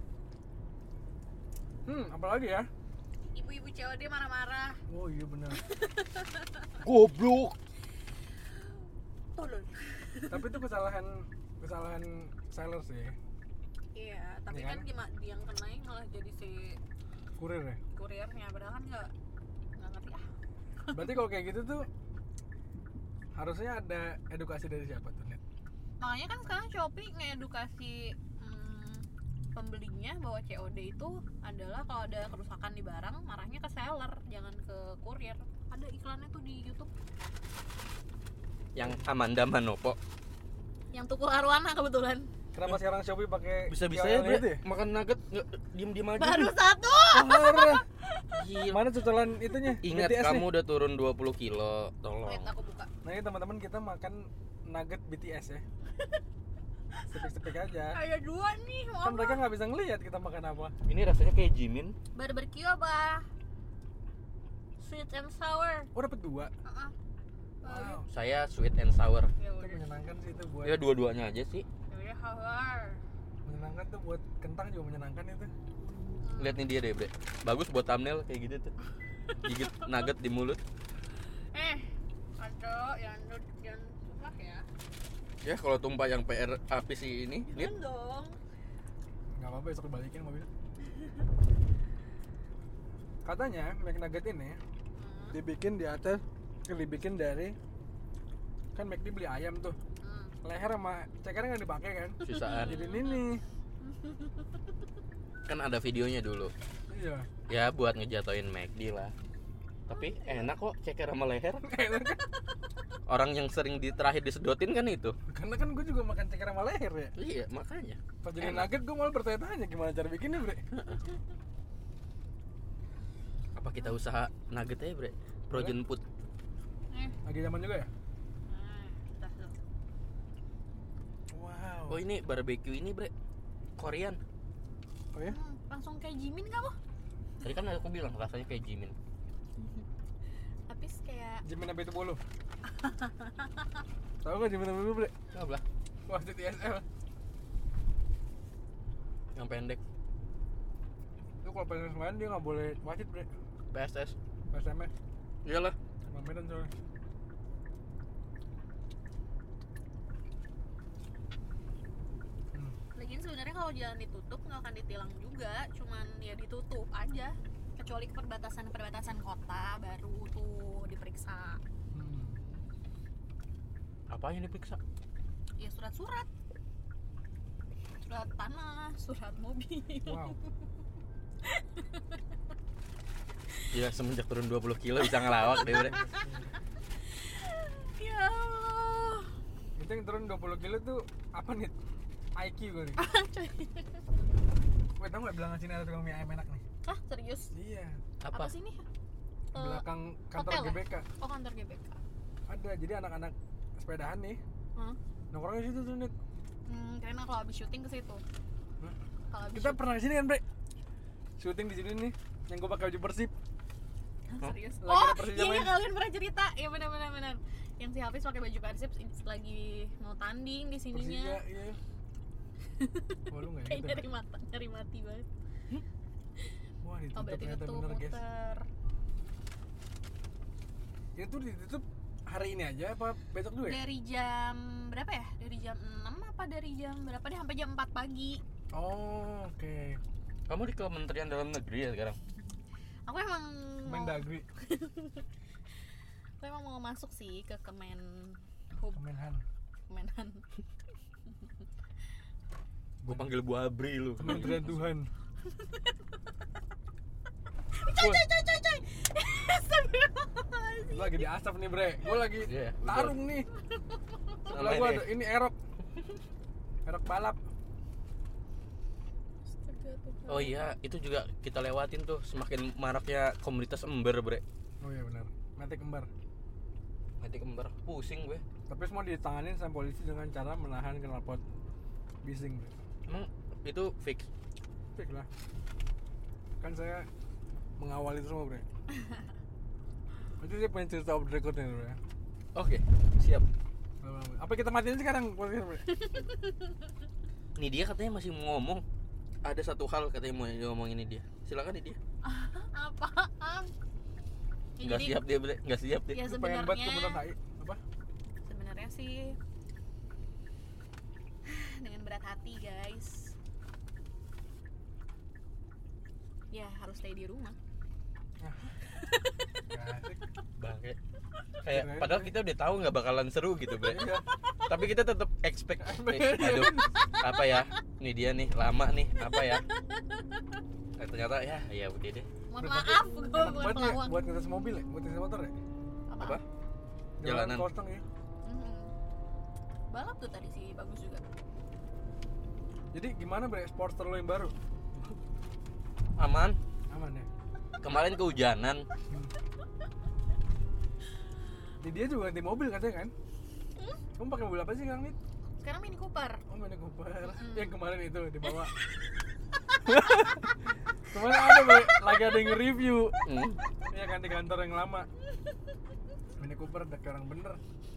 Hmm, apalagi ya? Ibu-ibu C O D marah-marah. Oh iya benar. Goblok. Tolong. Tapi itu kesalahan kesalahan seller sih, Iya, tapi Iya kan kan? gimana dia yang kenain malah jadi si kurir ya. kurirnya, padahal kan nggak nggak ngerti ah. Berarti kalau kayak gitu tuh harusnya ada edukasi dari siapa tuh net? Makanya kan sekarang Shopee ngedukasi hmm, pembelinya bahwa C O D itu adalah kalau ada kerusakan di barang marahnya ke seller, jangan ke kurir. Ada iklannya tuh di YouTube. Yang Amanda Manopo. Yang Tukul Arwana kebetulan. Kenapa sekarang Shopee pakai Bisa-bisa K O L ya, Bre. itu ya? Makan nugget nggak diem-diem aja. Baru satu. Parah. Gila. Mana cuculan itunya? Ingat B T S kamu nih? udah turun dua puluh kilo, tolong. Wait, aku buka. Nah ini teman-teman kita makan nugget B T S ya. Sepik-sepik aja. Ada dua nih, mau Kan mereka apa? nggak bisa ngelihat kita makan apa. Ini rasanya kayak Jimin. Barbecue apa? Sweet and sour. Oh dapat dua. Uh-uh. Wow. Saya sweet and sour. Ya Itu udah. menyenangkan sih itu buat. Ya dua-duanya aja sih. Ya udah sour. Menyenangkan tuh buat kentang juga menyenangkan itu. Lihat nih dia deh, Bre. Bagus buat thumbnail kayak gitu tuh. Gigit nugget di mulut. Eh, ada yang yang tumpah ya. Ya kalau tumpah yang P R api sih ini. Lihat. Jangan dong. Nggak apa-apa besok balikin mobil. Katanya McNugget ini Hmm. dibikin di atas, dibikin dari kan McD beli ayam tuh, Hmm. leher sama cekernya nggak dipakai kan, Susaan. jadi ini Kan ada videonya dulu. iya. Ya buat ngejatoin McD lah. Tapi enak kok ceker sama leher. Orang yang sering di terakhir disedotin kan itu. Karena kan gue juga makan ceker sama leher ya. Iya, makanya. Pas jadi Enak. nugget gue malah bertanya-tanya gimana cara bikinnya bre. Apa kita usaha nugget aja, Bre? Frozen food. Eh, Lagi zaman juga ya. nah, udah tuh. Wow. Oh, ini barbecue ini, Bre. Korean. Oh ya? Hmm, langsung kayak Jimin kamu. Tadi kan aku bilang rasanya kayak Jimin. Tapi kayak Jimin apa itu bolu? Tahu nggak Jimin apa itu bre? Coba lah, Wah itu T S L. yang pendek. Itu kalau pengen main dia nggak boleh wasit bre. P S S. P S M S. Iyalah. Sama Medan soalnya. Hmm. lagian sebenarnya kalau jalan ditutup nggak akan ditilang juga, cuman ya ditutup aja. Kecuali ke perbatasan-perbatasan kota baru tuh diperiksa. Hmm. Apa yang diperiksa? Ya surat-surat. Surat tanah, surat mobil. Wow. Gila, semenjak turun dua puluh kilo bisa ngelawak deh, Bre. Ya Allah. Itu yang turun dua puluh kilo tuh apa nih? I Q kali. Weh tau nggak belakang sini ada tukang mie ayam enak nih? Ah, serius? Iya. Apa, Apa? sih ini? Eh, Belakang kantor hotel G B K. ya? Oh, kantor G B K. Ada. Jadi anak-anak sepedahan nih. Hah? Nongkrongnya situ tuh nih. Hmm, karena kalau habis syuting ke situ. Hah? Kalau habis Kita syuting- pernah kesini kan bre? Syuting di sini nih. Yang gue pakai baju Persib. Hah, serius? Lagi Oh, ada Persija iya main. kalian pernah cerita. Iya benar benar benar. Yang si Hafiz pakai baju Persib lagi mau tanding di Persija, sininya. iya. Oh lu nggak Kayak gitu? nyari mata, nyari mati banget. Wah Oh, ditutup berarti ternyata itu bener guys. muter. Itu ditutup hari ini aja apa besok dulu ya? Dari jam berapa ya? Dari jam berapa dari jam berapa deh sampai jam empat pagi. Oh, oke. Okay. Kamu di Kementerian Dalam Negeri ya sekarang? Aku emang mau, Mendagri. aku emang mau masuk sih ke Kemen Hub, Kemenhan. Kemenhan. Gue panggil Bu Abri lu. Kementerian Tuhan. Coy coy coy coy coy. Astagfirullahaladzim. Lagi di asap nih bre. Gue lagi Iya, tarung nih. Sebelah gue ada ini erok. Erok balap. Oh iya, itu juga kita lewatin tuh semakin maraknya komunitas ember, bre. Oh iya benar. Metik embar. Metik ember, pusing gue. Tapi semua ditanganin sama polisi dengan cara menahan knalpot bising bre. Emang itu fix? Fix lah. Kan saya mengawali itu semua bre. Itu dia pengen cerita off the record-nya bre. Oke, siap. Apa kita matiin sekarang podcast bre? Ini dia katanya masih mau ngomong. Ada satu hal katanya mau ngomongin ini dia. Silakan ini dia. Apaan? Ya, Nggak jadi- siap dia, bre. Nggak siap dia. Ya Lu pengen banget ke Bundaran sebenarnya H I. Apa? sebenarnya sih dengan berat hati guys. Ya harus stay di rumah. Gak asik. Bangke. Kayak Kirain padahal gue. kita udah tahu nggak bakalan seru gitu, bre. Iya. Tapi kita tetap expect. Nih, aduh, apa ya? Nih dia nih lama nih, apa ya? Nah, ternyata ya, ya udah deh. Mohon Berarti maaf, gue enak bukan banget ya pelawak. buat ngetes mobil ya? Buat ngetes motor ya? Apa? Jalanan Jalanan. kosong ya? Mhm. Balap tuh tadi sih bagus juga. Jadi gimana bre, Sportster lo yang baru? Aman. Aman ya? Kemarin kehujanan. Jadi dia juga ganti mobil katanya kan? Kamu pakai mobil apa sih sekarang nih? Sekarang Mini Cooper. Oh Mini Cooper. Mm. Yang kemarin itu dibawa. Kemarin ada bre, lagi ada yang nge-review. Hmm. Iya kan di kantor yang lama. Mini Cooper udah kayak orang bener.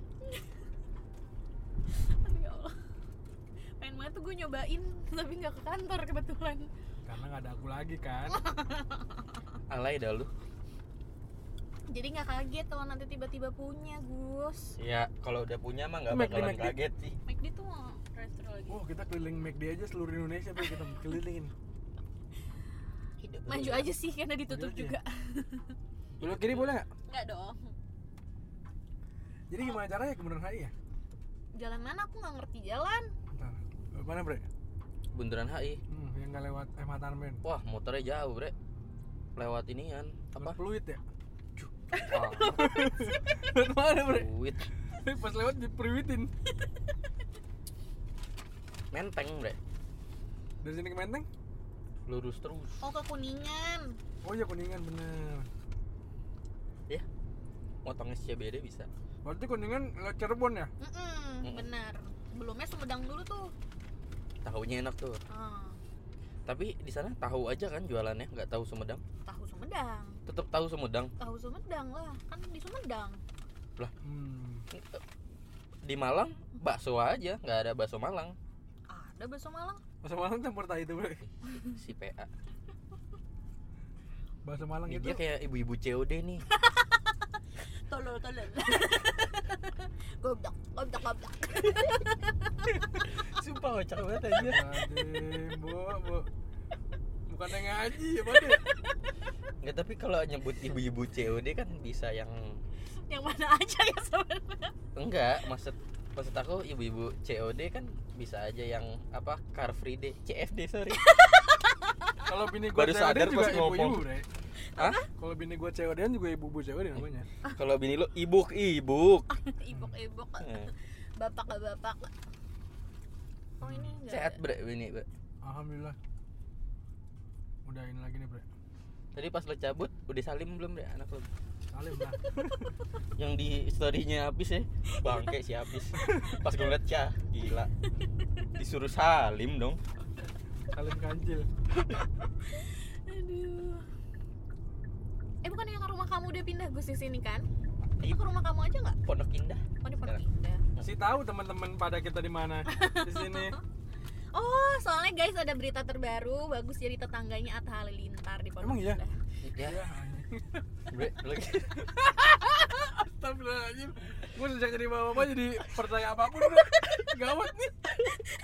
Aduh ya Allah. Pengen banget tuh gue nyobain tapi nggak ke kantor kebetulan. Karena nggak ada aku lagi kan. Alay dah lu. Jadi nggak kaget kalau nanti tiba-tiba punya Gus. Ya, kalau udah punya mah nggak McD, bakalan McD. kaget sih. McD tuh mau drive-thru lagi. Oh kita keliling McD aja seluruh Indonesia bre, kita kelilingin. Hidup Maju lu. aja sih karena ditutup Maju aja. juga. Belok kiri boleh nggak? Nggak dong. Jadi gimana caranya ke Bundaran H I ya? Jalan mana aku nggak ngerti jalan. Bentar. Mana bre? Bundaran H I. Hmm, yang nggak lewat M H Tamrin. Wah, motornya jauh, bre. Lewat inian, apa? Fluid ya? Wah, Lewat mana bre? duit. Pas lewat dipriwitin. Menteng, bre. Dari sini ke Menteng? Lurus terus. Oh ke Kuningan. Oh iya Kuningan bener. Ya. Motong S C B D bisa. Berarti Kuningan lewat Cirebon ya? Mm-mm, Mm-mm. benar. Sebelumnya Sumedang dulu tuh. Tahunya enak tuh. Ah, Tapi di sana tahu aja kan jualannya, nggak tahu Sumedang. tahu Sumedang. Tetap tahu Sumedang. Tahu Sumedang lah, kan di Sumedang. Hmm. Di Malang bakso aja, nggak ada bakso Malang. Ada bakso Malang. Bahasa Malang campur tahi itu bre. Si P A. Bahasa Malang Ini itu dia kayak ibu-ibu C O D nih. Tolol tolol. Goblok, goblok, goblok. Sumpah kocak banget aja. Aduh, bu, bu. Bukannya ngaji ya Pak deh. Nggak, tapi kalau nyebut ibu-ibu C O D kan bisa yang Yang mana aja ya sebenarnya. enggak, maksud maksud aku ibu-ibu C O D kan bisa aja yang apa Car Free Day, C F D sorry. Kalau bini gua Baru C O D sadar juga pas ngomong. ibu-ibu bre. Hah? Kalau bini gua C O D-an juga ibu-ibu C O D namanya. Kalau bini lu ibuk-ibuk. Ibuk-ibuk. Eh, Bapak ke bapak. Oh ini enggak. Sehat bre bini, bre. Alhamdulillah. Udah ini lagi nih bre. Tadi pas lo cabut udah salim belum bre anak lo? Salim lah. Yang di story-nya habis ya. Bangke si habis. Pas gue liat cah, gila. Disuruh salim dong. Salim kancil. Aduh. Eh bukan yang rumah kamu udah pindah Gus di sini kan? Di Itu ke rumah kamu aja nggak? Pondok Indah. Oh di Pondok Sekarang. Indah. Si tahu teman-teman pada kita di mana di sini. Oh soalnya guys ada berita terbaru bagus jadi tetangganya Atta Halilintar di Pondok Emang iya? Indah. Ya, Iya. anjing. bre, lagi. Astagfirullahaladzim. Gue sejak jadi bapak-bapak jadi percaya apapun bre. Gawat nih.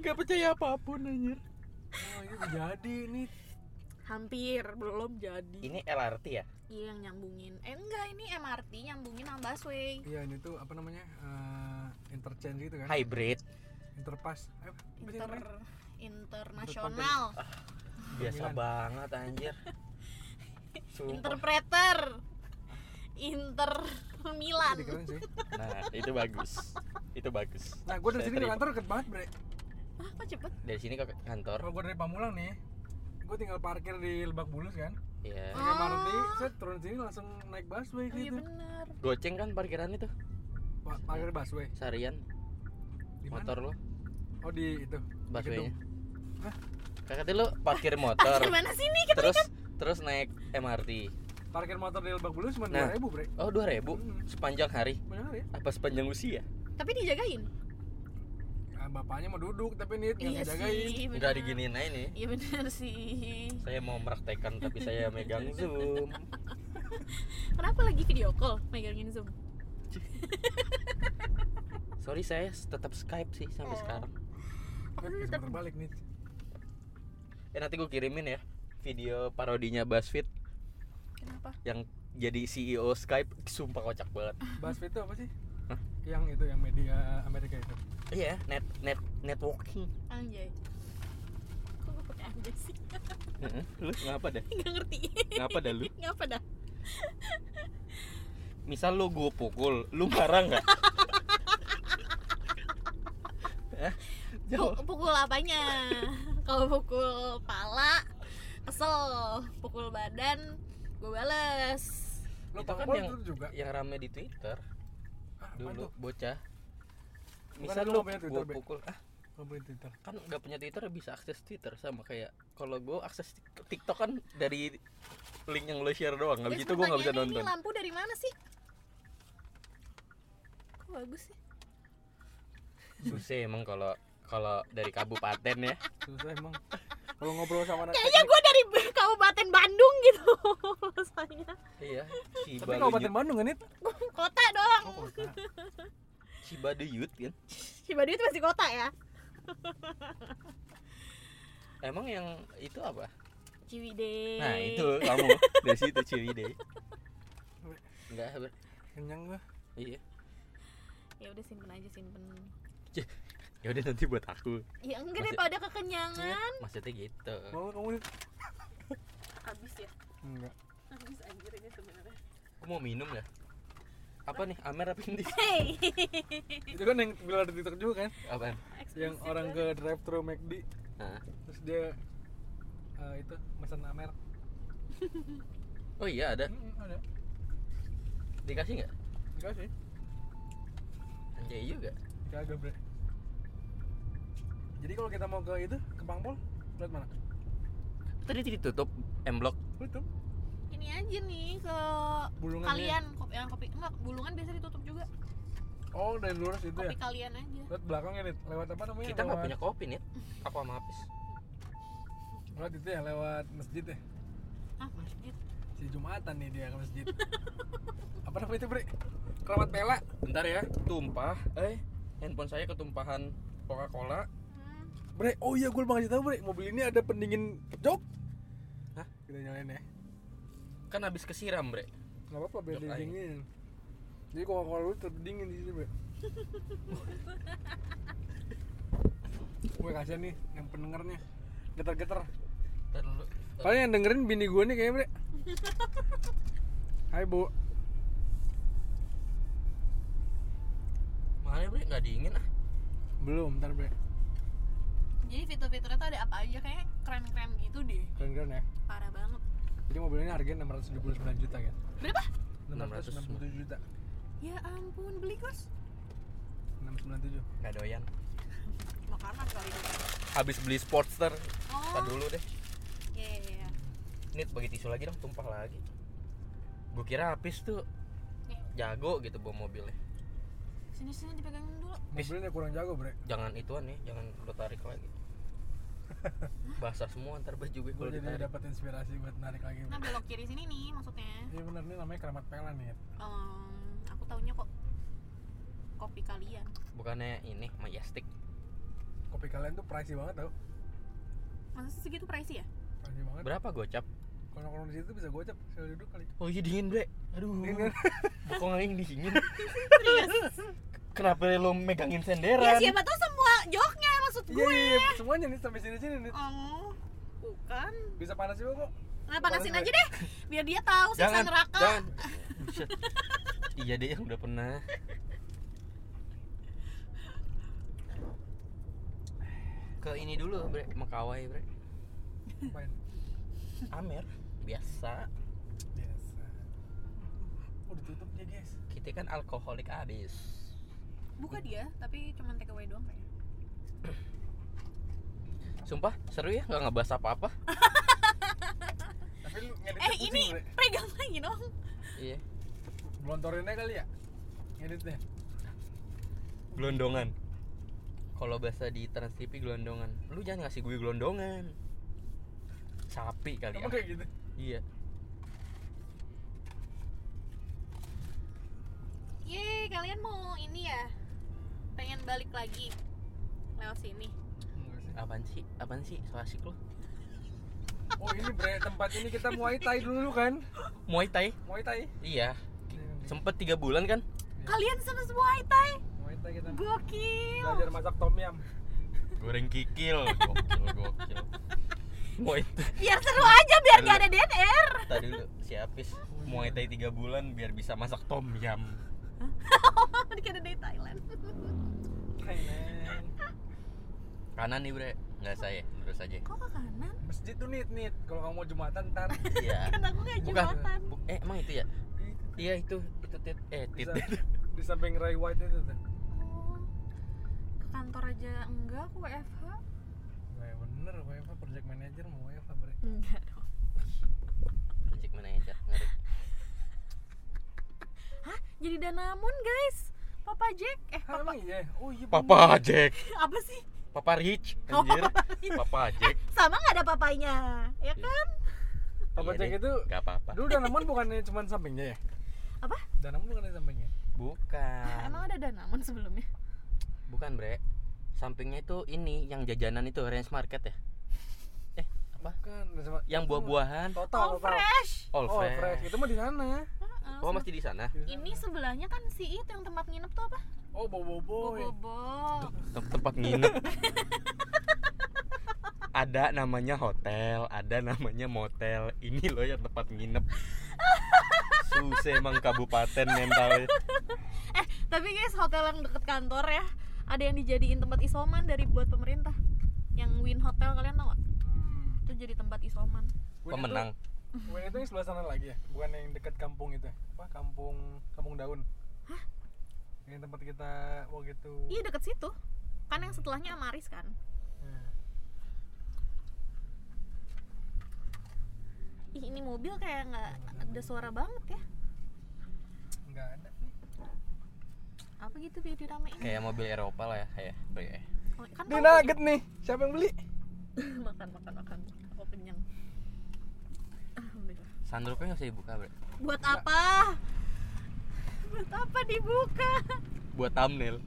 Gak percaya apapun anjir. Oh ini jadi nih. Hampir belum jadi. Ini L R T ya? Iya yang nyambungin. Eh enggak, ini M R T nyambungin sama busway. Iya ini tuh apa namanya uh, interchange gitu kan? Hybrid. Interpass. Eh, apa sih Inter namanya? internasional. Biasa Milan. banget anjir. Sumpah. Interpreter. Inter Milan. Jadi keren sih. Nah, itu bagus. Itu bagus. Nah gue dari Saya sini ke terima. kantor deket banget bre. Ah, kok cepet? Dari sini ke kantor. Kalau gue dari Pamulang nih, gue tinggal parkir di Lebak Bulus kan. Iya. Pakai M R T, set turun sini langsung naik busway Oh, iya gitu. benar. Goceng kan parkiran itu. Pa- Parkir busway. Seharian Di mana? motor lo, Oh di itu. busway-nya. Hah? Kakak lu parkir motor. Gimana sih nih? terus terus naik M R T. Parkir motor di Lebak Bulus cuma Nah. dua ribu bre. Oh, dua ribu Hmm. sepanjang hari. Banyak kali ya? Apa sepanjang usia? Tapi dijagain. Ya, bapaknya mau duduk tapi nih nggak Iya ngejagain. sih. Enggak benar. diginiin aja nih. Iya benar sih. Saya mau meraktekkan tapi saya megang Zoom. Kenapa lagi video call megangin Zoom? Sorry, saya tetap Skype sih sampai Oh. sekarang. Apa Bisa lu tetap berbalik nih. Eh nanti gue kirimin ya video parodinya BuzzFeed kenapa? yang jadi C E O Skype, sumpah kocak banget. BuzzFeed itu apa sih? Hah? Yang itu yang media Amerika itu. Iya, net net networking. Anjay. Kok gue pakai anjay sih? Heeh. Lu ngapa dah? Enggak ngerti. Ngapa dah lu? Ngapa dah? Misal lu gue pukul, lu marah nggak? Hah? Jawab. Pu- pukul apanya? Kalau pukul pala kesel, pukul badan gue bales. Lo Itu kan pangpol yang itu juga. yang rame di Twitter Ah, apaan dulu tuh? bocah. Bukan Misal lu lu nggak punya Twitter, gue Be? pukul, ah Lo punya Twitter. kan nggak punya Twitter bisa akses Twitter sama kayak kalau gue akses Tik- TikTok kan dari link yang lo share doang, habis Guys, itu gue nggak bisa pertanyaannya nonton. Ini lampu dari mana sih? Kok bagus sih? Susah emang kalau kalau dari kabupaten ya. Susah emang. Kalau ngobrol sama anak Kayaknya gue dari Kabupaten Bandung gitu rasanya. Iya, Tapi Cibaluyut. Kabupaten Bandung kan itu? Kota dong. Oh, kota. Cibaduyut kan. Cibadu itu masih kota ya? Emang yang itu apa? Ciwidey. Nah, itu kamu dari situ Ciwidey. Enggak, Ber. Kenyang gua. Iya. Ya udah simpen aja simpen. Ya udah nanti buat aku. Ya enggak Masih- daripada kekenyangan. Maksudnya gitu. Mau kamu nih? Habis ya. Enggak. Habis anjir ini sebenarnya. Aku mau minum ya. Apa nih? Amer apa ini? Hey. Itu kan yang viral di TikTok juga kan? Apaan? Yang orang ke drive thru McD Nah. terus dia eh, itu pesan Amer. Oh iya ada. Hmm, ada. Dikasih nggak? Dikasih. Anjay juga. Kagak, Bre. Jadi kalau kita mau ke itu, ke Pangpol, lihat mana? Tadi ditutup M Block. Tutup. Ini aja nih ke Bulungan kalian kopi yang kopi enggak bulungan biasa ditutup juga. Oh, dari lurus itu ya. Kopi kalian aja. Lewat belakangnya nih, lewat apa namanya? Kita nggak Lewat- punya kopi nih. Aku sama Apis. Lewat itu ya, lewat masjid ya. Ah, masjid. Si Jumatan nih dia ke masjid. Apa namanya itu, Bre? Keramat Pela. Bentar ya. Tumpah. Eh, handphone saya ketumpahan Coca-Cola. Hmm. Bre, oh iya gue lupa ngasih tahu, Bre. Mobil ini ada pendingin jok. Hah? Kita nyalain ya. Kan habis kesiram, Bre. Enggak apa-apa, biar Jok dia aja. dingin. Jadi kalau kalau lu terdingin di situ, Bre. Gue kasihan nih yang pendengarnya. Getar-getar. Ntar dulu. Paling yang dengerin bini gue nih kayaknya, Bre. Hai, Bu. Makanya, Bre, nggak dingin ah. Belum, ntar, Bre. Jadi fitur-fiturnya tuh ada apa aja kayak keren-keren gitu deh. Keren-keren ya. Parah banget. Jadi mobil ini harganya enam ratus tujuh puluh sembilan juta kan. Berapa? enam ratus enam puluh tujuh juta. Ya ampun, beli kos. enam ratus sembilan puluh tujuh. Nggak doyan. Makanan kali itu. Habis beli Sportster. Oh. Ntar dulu deh. Iya, iya, iya. Ini bagi tisu lagi dong, tumpah lagi. Gue kira Apis tuh Nih. jago gitu bawa mobilnya. Sini-sini dipegangin dulu. Mobilnya kurang jago, Bre. Jangan ituan nih, jangan lo tarik lagi. Basah semua ntar baju gue Gue kalau jadi ditarik. dapat inspirasi buat narik lagi. Nah, Bre. belok kiri sini nih maksudnya. Iya benar nih namanya Keramat Pela nih. Um, aku taunya kok kopi kalian. Bukannya ini Majestic. Kopi kopi kalian tuh pricey banget tau. Masa sih segitu pricey ya? Pricey banget. Berapa gocap? Kalau nongkrong di situ bisa gocap sekali duduk kali. Oh iya dingin bre. Aduh. Dingin. Bokong aing dingin. Serius? Kenapa lo megangin Ya senderan? siapa tahu semua joknya maksud Iya gue. iya iya, semuanya nih sampai sini-sini nih. Oh, bukan. Bisa panas juga kok. Nah, panasin Panas, aja deh. Biar dia tahu siksa Jangan, neraka. jangan. Buset. Iya deh yang udah pernah. Ke ini dulu bre, Makawai bre. Main. Amer biasa. Biasa. Oh ditutup dia guys. Kita kan alkoholik abis. Buka dia, tapi cuma take away doang kayaknya. Sumpah seru ya nggak ngebahas apa-apa. Tapi lu ngeditnya Eh pusing, ini Bre. pegang lagi dong. Iya. Blontorinnya kali ya? Ngeditnya. Gelondongan. Kalau bahasa di Trans T V gelondongan. Lu jangan ngasih gue gelondongan. Sapi kali Emang ya. kayak gitu? Iya. Yeay, kalian mau ini ya? Pengen balik lagi lewat sini. Enggak sih. Apaan sih? Apaan sih? So asik lu. Oh ini bre, tempat ini kita Muay Thai dulu kan? Muay Thai? Muay Thai? Iya. Sempet tiga bulan kan? Kalian sama Muay Thai? Muay Thai kita Gokil. belajar masak tom yum. Goreng kikil. Gokil, gokil. Muay Thai. Biar seru aja, biar gak ada D N R. Tadi dulu si Apis Muay Thai tiga bulan biar bisa masak tom yum. Dikira dari Thailand. Thailand. Kanan nih bre, nggak saya, lurus aja. Kok ke kanan? Masjid tuh nit nit. Kalau kamu mau jumatan ntar. Iya. Kan aku kayak Bukan. jembatan. Bu- eh emang itu ya? Iya itu, itu tit, eh tit. Bisa. Di samping Ray White itu tuh. Oh, ke kantor aja enggak, aku W F H. Wah bener, W F H project manager mau W F H bre. Enggak dong. Project manager, ngeri. Hah? Jadi Danamon guys. Papa Jack. Eh, Hah, Papa. emang iya? Oh iya Papa Jack, Apa sih? Papa Rich, Oh, anjir. Papa Rich. Papa Jack. Sama nggak ada papanya, ya kan? Papa Iya Jack deh, itu nggak apa-apa. dulu Danamon bukannya cuma sampingnya ya? Apa? Danamon bukannya sampingnya? Bukan. Emang ada Danamon sebelumnya? Bukan bre. Sampingnya itu ini yang jajanan itu Range Market ya? Eh apa? Bukan. sama- Yang buah-buahan. Total, Oh, total. fresh. All Oh, fresh. fresh. Itu mah di sana. Heeh, Oh se- masih di sana. Di sana. Ini sebelahnya kan si itu yang tempat nginep tuh apa? Oh, bobo-bobo. Bobo. Tem- tempat nginep. Ada namanya hotel, ada namanya motel. Ini loh yang tempat nginep. Susah emang kabupaten mentalnya. Eh, tapi guys, hotel yang deket kantor ya, ada yang dijadiin tempat isoman dari buat pemerintah. Yang Win Hotel, kalian tau gak? Hmm. Itu jadi tempat isoman. Win Pemenang. Itu, Win itu yang sebelah sana lagi ya? Bukan yang dekat kampung itu. Apa? Kampung Kampung Daun. Hah? Yang tempat kita waktu itu. Iya, deket situ. Kan yang setelahnya Amaris kan. Nah. Ih, ini mobil kayak nggak ada suara banget ya. Enggak ada nih. Apa gitu biar diramein. Kayak mobil Eropa lah ya, kayak bre. Oh, kan Ini kamu- nugget nih. Siapa yang beli? makan makan makan. Aku kenyang. Alhamdulillah. Sunroofnya nggak usah dibuka bre. Buat apa? Buat apa dibuka? Buat thumbnail.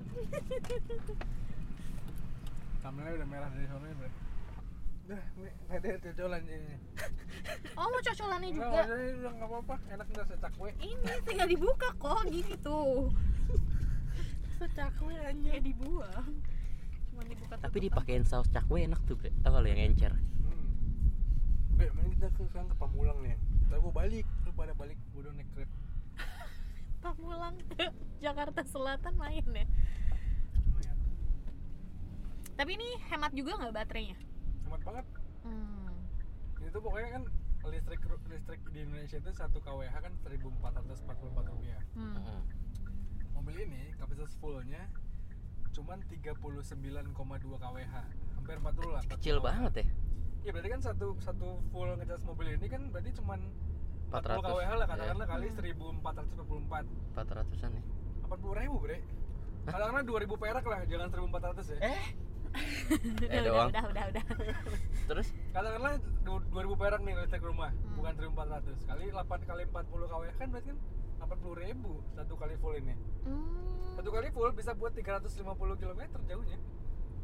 Thumbnailnya udah merah dari sana, Bre. Udah, ini ada cocolan ini. Oh, mau cocolannya Enggak, juga. udah, udah enggak apa-apa. Enak enggak secakwe. Ini tinggal dibuka kok, gini tuh. Secakwe aja. Kayak dibuang. Cuma dibuka. Tapi tutupan. dipakein saus cakwe enak tuh bre. Tau kalau yang encer. Hmm. Bre, mending kita ke sekarang ke Pamulang nih. Entar gua balik, lu pada balik, gua udah naik Grab. Pamulang ke Jakarta Selatan main ya. Lumayan. Tapi ini hemat juga nggak baterainya? Hemat banget. Hmm. Ini tuh pokoknya kan listrik listrik di Indonesia itu satu kilowatt kan seribu empat ratus empat puluh empat rupiah. Hmm. Heeh. Mobil ini kapasitas fullnya cuman tiga puluh sembilan koma dua kilowatt, hampir empat puluh lah. empat puluh Kecil kilowatt. banget ya. Iya berarti kan satu satu full ngecas mobil ini kan berarti cuman empat puluh empat ratus. kilowatt lah katakanlah Iya. kali Hmm. seribu empat ratus empat puluh empat. empat ratusan ya. empat puluh ribu bre. Katakanlah dua ribu perak lah, jangan seribu empat ratus ya. Eh, udah, Eh, udah, doang. udah, udah, udah. terus Katakanlah dua ribu perak nih listrik rumah, Hmm. bukan seribu empat ratus. Kali delapan kali empat puluh kilowatt kan berarti kan delapan puluh ribu satu kali full ini. Hmm. Satu kali full bisa buat tiga ratus lima puluh kilometer jauhnya.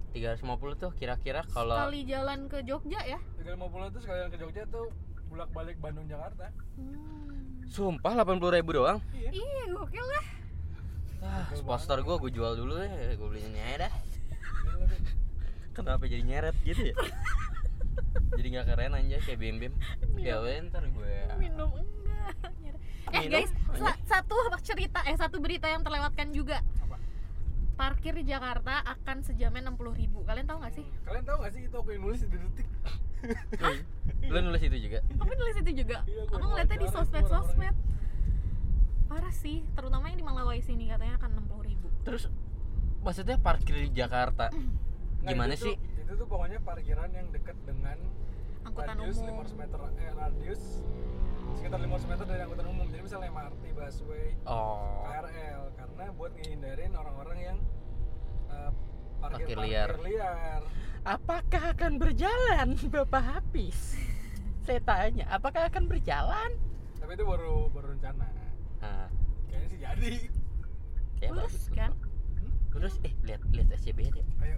tiga ratus lima puluh tuh kira-kira kalau Sekali jalan ke Jogja ya? tiga ratus lima puluh itu sekalian ke Jogja tuh bolak-balik Bandung Jakarta. Hmm. sumpah delapan puluh ribu doang. Iya. Iya, gokil lah. Ah, sponsor gue gue jual dulu deh, gue belinya nyeret dah. Gila, Dek. Kenapa jadi nyeret gitu ya? Jadi nggak keren aja kayak bim bim. Ya udah ntar gue. Minum enggak. Eh Minum, guys, sa- satu cerita eh satu berita yang terlewatkan juga. Apa? Parkir di Jakarta akan sejamnya enam puluh ribu. Kalian tahu nggak sih? Kalian tahu nggak sih itu aku yang nulis di Detik? Lu nulis itu juga? Aku nulis itu juga. Iya, gua Aku ngeliatnya di wawancara itu sosmed-sosmed. Parah sih, terutama yang di Malawai sini katanya akan enam puluh ribu. Terus maksudnya parkir di Jakarta Nggak, gimana itu sih? Tuh, itu tuh pokoknya parkiran yang dekat dengan Angkutan radius umum. lima ratus meter, eh, radius sekitar lima ratus meter dari angkutan umum. Jadi misalnya M R T, busway, Oh, K R L, karena buat ngehindarin orang-orang yang uh, parkir, Parkir parkir liar. liar. apakah akan berjalan Bapak Hafiz? Saya tanya, apakah akan berjalan? Tapi itu baru baru rencana. Nah, Kayaknya sih jadi. ya Lurus bagus. kan? Terus eh lihat lihat S C B D. Ayo.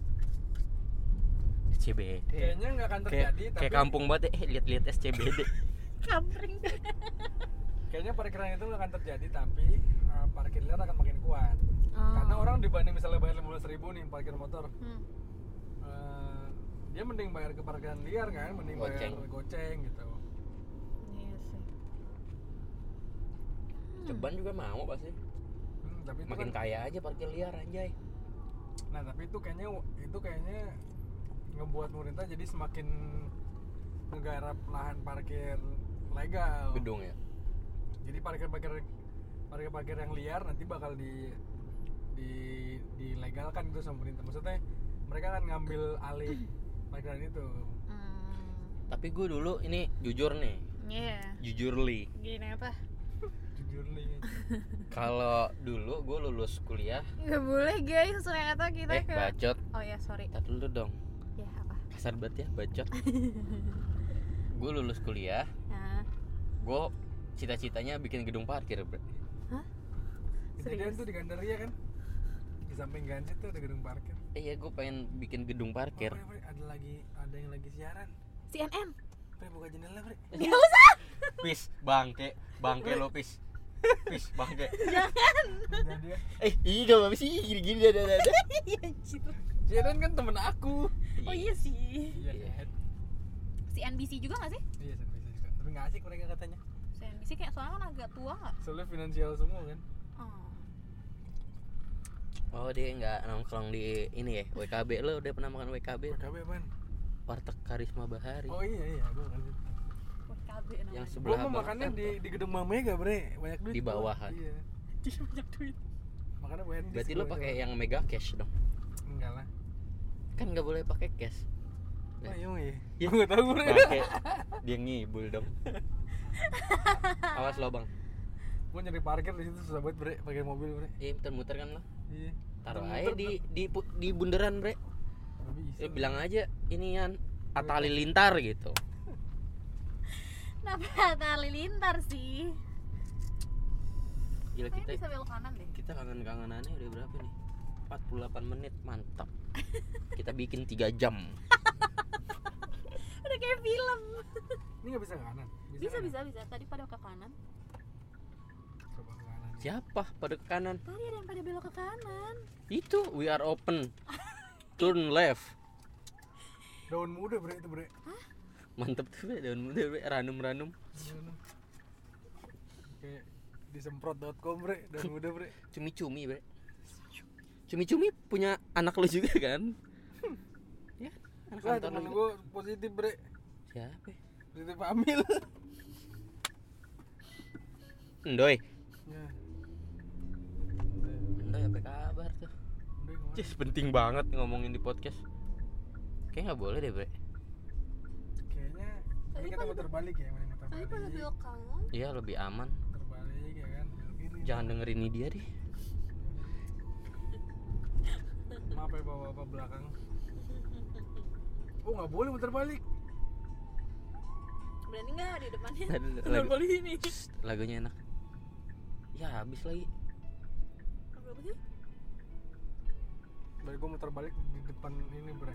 S C B D. Kayaknya nggak akan Kayak terjadi, tapi kayak kampung banget eh lihat-lihat S C B D. Kampring. kayaknya parkiran itu nggak akan terjadi, tapi uh, parkir liar akan makin kuat. Oh. Karena orang dibanding misalnya bayar lima belas ribu nih parkir motor, Hmm. uh, dia mending bayar ke parkiran liar kan, mending Goceng. bayar goceng gitu. Iya sih. Ceban juga mau pasti. Hmm, tapi itu Makin kan, kaya aja parkir liar anjay. nah tapi itu kayaknya itu kayaknya ngebuat pemerintah jadi semakin menggarap lahan parkir legal. Gedung ya. Jadi parkir-parkir parkir-parkir yang liar nanti bakal di di dilegalkan itu sama pemerintah. Maksudnya mereka akan ngambil alih parkiran itu. Hmm. Tapi gue dulu ini jujur nih, Iya. jujur li. Gini apa? Jujur nih. Kalau dulu gue lulus kuliah, Nggak boleh guys, ternyata kita eh ke. bacot. Oh ya sorry. Tar dulu dong. Ya apa? Kasar banget ya bacot. Gue lulus kuliah, Nah. gue cita-citanya bikin gedung parkir, bro. Kejadian Serius? tuh di Gandaria kan. Di samping Gansit tuh ada gedung parkir. Eh ya gue pengen bikin gedung parkir. Oh, Bre, Bre, ada lagi ada yang lagi siaran. C N N. Bre, buka jendela, Bre. Nggak usah. Pis, bangke, bangke lo pis. Pis, bangke. Jangan. Nah, dia. Eh, iya gak apa sih gini-gini ada ada. Iya anjir. Siaran kan temen aku. Oh iya sih. Iya, iya. C N B C juga nggak sih? Iya, bisa juga. Tapi nggak asik mereka katanya. C N B C kayak soalnya kan agak tua nggak? Soalnya finansial semua kan. Oh. Oh dia nggak nongkrong di ini ya W K B. Lo udah pernah makan W K B? W K B apaan? Warteg Karisma Bahari. Oh iya iya, gua kan. K B namanya. Yang Gua sebelah mau bang- makannya eh, di di gedung Mama Mega, Bre. Banyak duit. Di gua. bawahan. Iya. Dia banyak duit. Makanya banyak. Berarti lo pakai yang mega cash dong. enggak lah. Kan nggak boleh pakai cash. Oh iya, iya. Ya. Gua enggak tahu, Bre. Bangke. Dia ngibul dong. Awas lo bang. Gua nyari parkir di situ susah banget, Bre, pakai mobil, Bre. Iya muter-muter kan lo. Iya. Taruh Muter-muter, aja di di pu- di bundaran bre. nggak bisa. Eh, bilang aja inian Atta Halilintar gitu. Kenapa tali lintar sih? Gila Kayaknya kita bisa belok kanan deh. kita kangen-kangenannya udah berapa nih? empat puluh delapan menit, mantap. Kita bikin tiga jam. Udah kayak film. Ini nggak bisa ke kanan. Bisa kanan? bisa bisa. Tadi pada ke kanan. Coba ke kanan. Siapa pada ke kanan? Tadi ada yang pada belok ke kanan. Itu we are open. Turn left. Daun muda, Bre, itu, Bre. Mantep tuh bre, daun muda bre, ranum-ranum. Kayak disemprot dot com, Bre, daun muda, Bre. Cumi-cumi bre. Cumi-cumi punya anak lu juga kan? Ya, anak Lah, kantor temen lu juga. gua positif, Bre. Siapa? ya? Positif hamil. Endoy. Ya. Endoy apa kabar tuh? Udah, gimana? Cis, penting banget ngomongin di podcast. Kayaknya nggak boleh deh bre. Kayaknya Tadi ini kita pada- muter balik ya, main muter Tadi pada balik. belok kanan. Iya lebih aman. Muter balik ya kan. Belok kiri. Jangan dengerin ini dia deh. Maaf ya bapak-bapak belakang. Oh, nggak boleh muter balik. Berani nggak di depannya? Lagu- Muter balik ini. Lagunya enak. Ya habis lagi. Berapa sih? Baru gue muter balik di depan ini bre.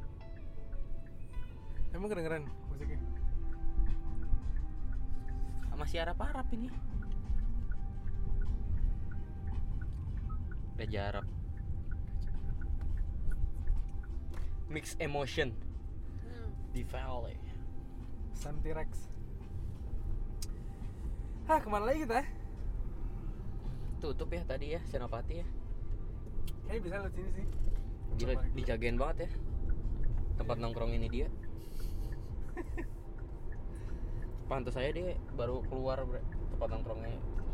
Emang kedengeran musiknya? Masih harap-harap ini. Raja Arab. Mix emotion Hmm. di Valley. Santi Rex. Hah, kemana lagi kita? Tutup ya tadi ya Senopati ya. Kayaknya bisa lewat sini sih. Gila dijagain banget ya. Tempat nongkrong ini dia. Pantes saya dia baru keluar bre, tempat nongkrongnya.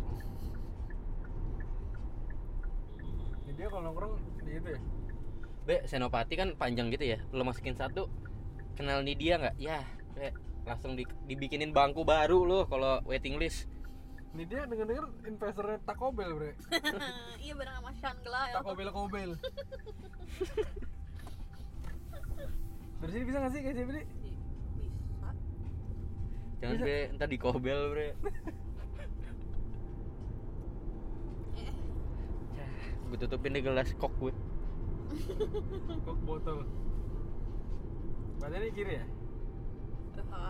Ini dia kalau nongkrong di itu ya. Be, Senopati kan panjang gitu ya. Lo masukin satu, kenal nih dia nggak? Ya, Be, langsung di, dibikinin bangku baru lo kalau waiting list. Ini dia denger-denger investornya Taco Bell bre. Iya bareng sama Shangela ya. Taco Bell Kobel. Dari sini bisa nggak sih kayak sini? Bisa. Jangan Bisa. bre, ntar di kobel bre. Eh, Gue tutupin deh gelas kok gue. Kok botol. Badannya ini kiri ya? eh,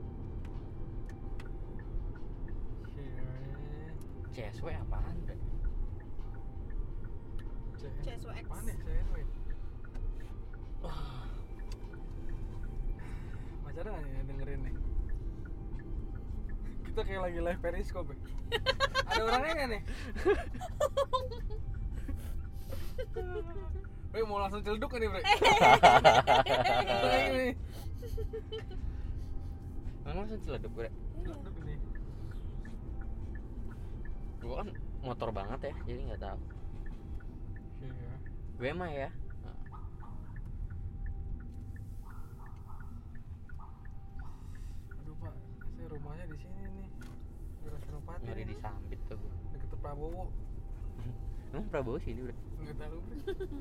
Kiri. C S W apaan bre? C C S W X. Apaan ya? C S W. Masih ada nggak nih yang dengerin nih? Kita kayak lagi live periscope ya? Ada orangnya nggak nih? Bre, mau langsung celduk kan nih bre? Kayak gini. Emang langsung celeduk bre. Celduk nih. Gue kan motor banget ya, jadi nggak tahu. Iya. Gue mah ya. Aduh pak, saya rumahnya di sini nih. Daerah Senopati. Ngeri nih. disambit tuh. Deket Prabowo. Emang Prabowo sini bre? Nggak tahu bre.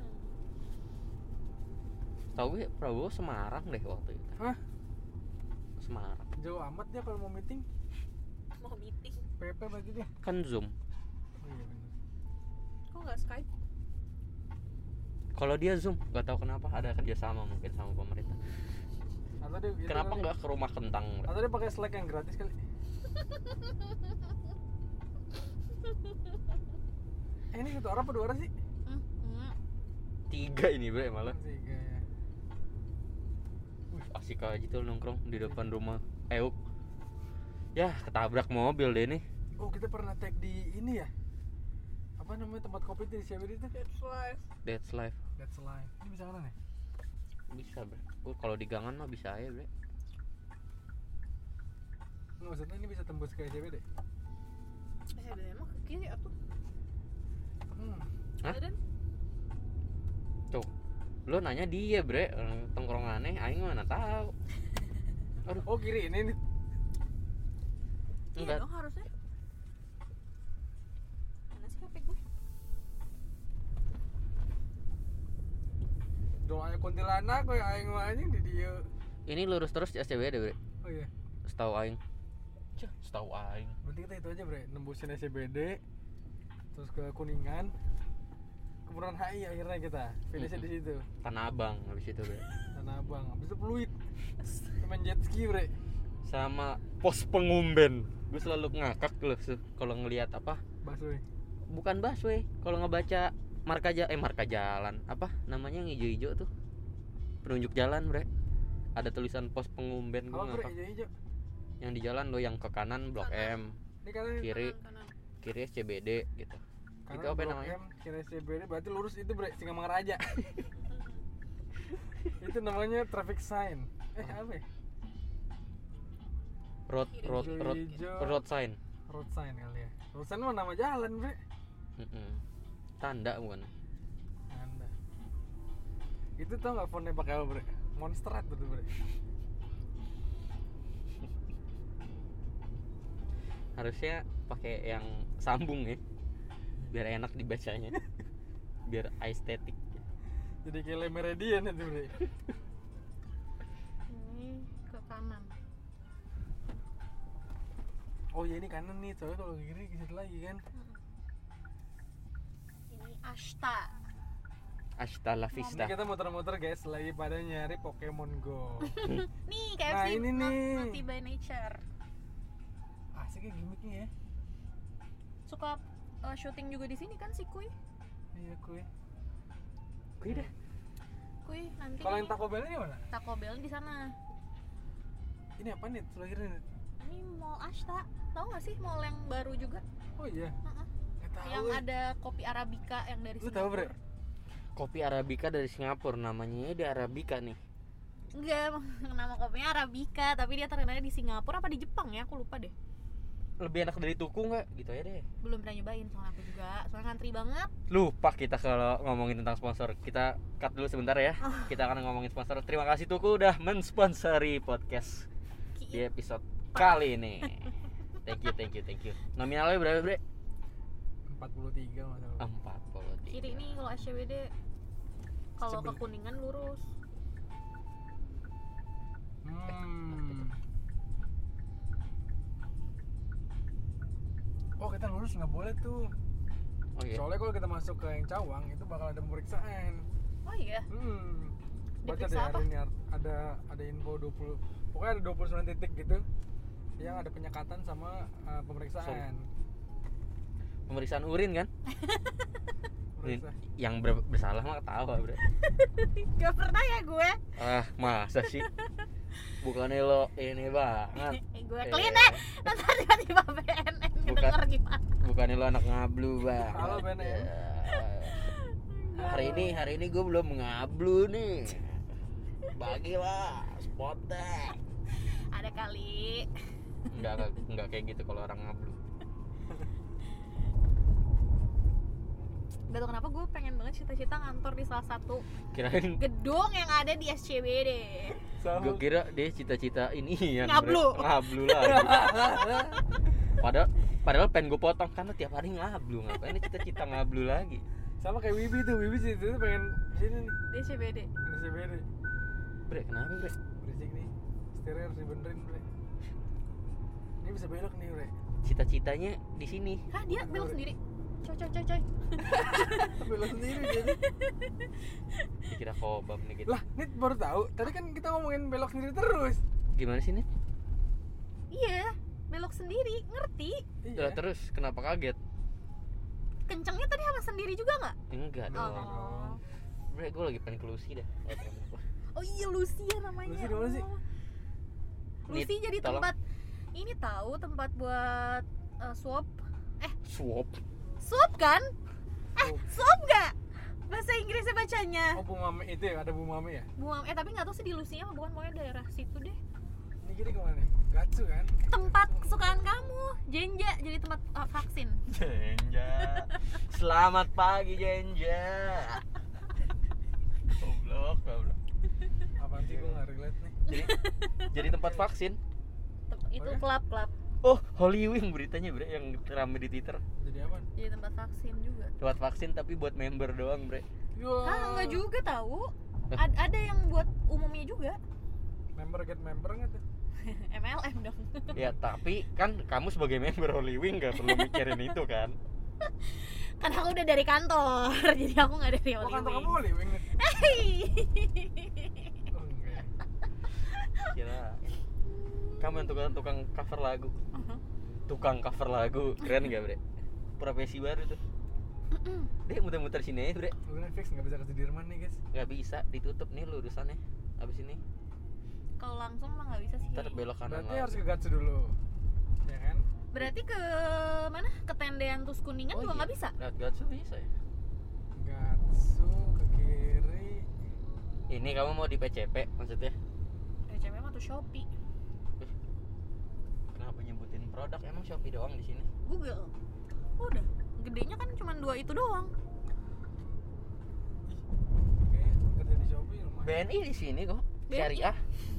Tahu gue Prabowo Semarang deh waktu itu. Hah? Semarang. Jauh amat dia kalau mau meeting. mau meeting. P P berarti dia. Kan Zoom. Oh iya benar. Kok nggak Skype? Kalau dia Zoom, nggak tahu kenapa ada kerjasama mungkin sama pemerintah. Atau dia gitu Kenapa kali. nggak ke rumah kentang? bre? Atau dia pakai Slack yang gratis kali. Eh ini satu orang apa dua orang sih? Hmm. hmm. Tiga ini bre malah. Tiga ya. Wih, asik aja tuh nongkrong di depan rumah Euk. Ya ketabrak mobil deh nih. Oh kita pernah tag di ini ya? Apa namanya tempat kopi itu di C B D itu? That's life. That's life. That's life. Ini bisa mana nih? Bisa bre. Gue kalau di gangan mah bisa aja bre. Nggak, maksudnya ini bisa tembus ke C B D? Eh, ada emang ke kiri atuh. Hmm. Hah? Ada. Tuh, lo nanya dia bre, orang tongkrongannya, aing mana tahu. Aduh, Oh kiri ini nih. Iya enggak. dong harusnya. Mana sih H P gue? Doanya kuntilanak kayak aing mah anjing di dia. Ini lurus terus di S C B D bre. Oh iya. Setahu aing. Cah, setahu aing. Berarti kita itu aja bre, nembusin S C B D, terus ke Kuningan, ke Bundaran H I akhirnya kita finishnya di situ. Tanah Abang habis itu bre. Tanah Abang, habis itu Pluit, main jet ski bre. Sama pos pengumben. Gue selalu ngakak loh se- kalau ngelihat apa? Busway. Bukan busway, kalau ngebaca marka ja- eh marka jalan, apa namanya yang hijau-hijau tuh? Penunjuk jalan bre. Ada tulisan pos pengumben. Gue Apa bre, ngakak. hijau-hijau? Yang di jalan lo yang ke kanan Blok M, Ini kanan, kiri Kanan, kanan. kiri S C B D gitu. kanan Itu apa Blok namanya? M, kiri C B D, berarti lurus itu bre, Singamangaraja. Itu namanya traffic sign. Eh apa ya? Road road road Hijau-hijau. road sign. Road sign kali ya. Road sign mah nama jalan bre. Mm-mm. Tanda bukan? Anda. Itu tau nggak fontnya pakai apa bre? Monstrat tuh bre. Harusnya pakai yang sambung ya. Biar enak dibacanya. Biar estetik. Jadi kayak Le Meridian itu bre. Ini ke kanan. Oh iya ini kanan nih, soalnya kalau kiri ke situ lagi kan. Ini Ashta. Hasta la Ini vista. kita muter-muter guys, lagi pada nyari Pokemon Go. Nih K F C Nah, ini not- nih. Naughty by Nature. Asik ya gimmicknya ya. Suka uh, syuting juga di sini kan si Kuy. Iya kue. Kuy dah. Kuy nanti Kalau yang nih, Taco Bell ini mana? Taco Bell di sana. Ini apa nih? Terakhirnya nih. Ini Mall Ashta. Tahu nggak sih mall yang baru juga? Oh iya. Heeh. Nggak tahu. Yang ya. ada kopi Arabica yang dari Lu tahu bre? Kopi Arabica dari Singapura, namanya di Arabica nih. Enggak, nama kopinya Arabica, tapi dia terkenalnya di Singapura apa di Jepang ya? Aku lupa deh. Lebih enak dari Tuku nggak? Gitu ya deh. Belum pernah nyobain soalnya aku juga. Soalnya ngantri banget. Lupa kita kalau ngomongin tentang sponsor. Kita cut dulu sebentar ya. Kita akan ngomongin sponsor. Terima kasih Tuku udah mensponsori podcast di episode kali ini. Thank you, thank you, thank you. Nominalnya berapa, Bre? empat puluh tiga masalah. empat puluh tiga. Kiri nih kalau S C B D kalau ke Sebel- Kuningan lurus. Hmm. Oh kita lurus nggak boleh tuh. Oh iya. Soalnya kalau kita masuk ke yang Cawang itu bakal ada pemeriksaan. Oh iya. Hmm. Baca Diperiksa deh apa? hari ini ada ada info dua puluh. Pokoknya ada dua puluh sembilan titik gitu yang ada penyekatan sama uh, pemeriksaan. Pemeriksaan urin kan? Urin. Pemeriksa. Yang ber- bersalah mah ketawa, Bre. Gak pernah ya gue. Ah, masa sih? Bukannya lo ini banget. Eh, gue Eh, clean ya. Nanti tiba-tiba B N N Bukan. denger gimana. Bukannya lo anak ngablu banget. Halo, B N N. Ya. Hari ini hari ini gue belum ngablu nih. Bagilah spotnya. Ada kali. Enggak, enggak enggak kayak gitu kalau orang ngablu. Gak tau kenapa gue pengen banget cita-cita ngantor di salah satu Kirain gedung yang ada di S C B D. gue kira dia cita-cita ini ya Ngablu. ngablu lagi. Padahal padahal pengen gue potong karena tiap hari ngablu, ngapain dia cita-cita ngablu lagi. Sama kayak Wibi tuh, Wibi sih tuh pengen sini nih. Di S C B D. Ini C B D. Bre, kenapa, Bre? Berisik nih. Setirnya harus dibenerin, Bre. Ini bisa belok nih, Bre. Cita-citanya di sini. Hah, dia belok sendiri. Coy coy coy coy. Belok sendiri jadi. Dikira kobam nih gitu. Lah, ini baru tahu. Tadi kan kita ngomongin belok sendiri terus. Gimana sih nih? Iya, belok sendiri, ngerti? Lah, terus kenapa kaget? Kencengnya tadi sama sendiri juga nggak? Enggak dong. Oh. Bre, gue lagi pengen ke Lucy dah. Oh iya, Lucy ya namanya. Lucy di mana sih? Oh. Lucy Nih, jadi tolong. tempat ini tahu tempat buat uh, swab. Swap. Swab kan? Eh, Oh. swab nggak? Bahasa Inggrisnya bacanya. Oh, Bu Mame itu ya, ada Bu Mame ya? Buang eh tapi nggak tahu sih di Lucy apa bukan, pokoknya daerah situ deh. Ini kiri kemana nih? Gatsu kan? Tempat kesukaan kamu, Jenja, jadi tempat uh, vaksin. Jenja. Selamat pagi Jenja. Goblok, goblok. Apaan sih gue nggak relate nih? Jadi jadi tempat vaksin. Tem- itu Oh ya? klub-klub. Oh, Holy Wing beritanya, Bre, yang rame di Twitter. Jadi apa? Jadi tempat vaksin juga. Tempat vaksin tapi buat member doang, Bre. Yo. Ah, enggak juga tahu. Eh. Ad- ada yang buat umumnya juga. Member get member nggak tuh? M L M dong. Ya, tapi kan kamu sebagai member Holy Wing gak perlu mikirin itu kan. Kan aku udah dari kantor, jadi aku nggak dari Oh, Holy kantor Wing. kamu Holy Wing nih? Hei. Oh, enggak. Kira kamu yang tukang tukang cover lagu. Uh-huh. Tukang cover lagu, keren gak, Bre? Profesi baru tuh. Dek, muter-muter sini aja, Bre. Udah fix nggak bisa ke Sudirman nih guys. Nggak bisa, ditutup nih lurusannya. Abis ini Kalau langsung mah nggak bisa sih. ntar belok kanan Berarti lagi. harus ke Gatsu dulu, ya kan? Berarti ke mana? Ke Tendean terus Kuningan Oh juga iya. nggak bisa. Lewat Gatsu bisa ya? Gatsu ke kiri. Ini kamu mau di P C P maksudnya? P C M atau Shopee? Kenapa nyebutin produk? Emang Shopee doang di sini? Google. Udah, gedenya kan cuma dua itu doang. Oke, kerja di Shopee lumayan. B N I di sini kok. B N I? Syariah.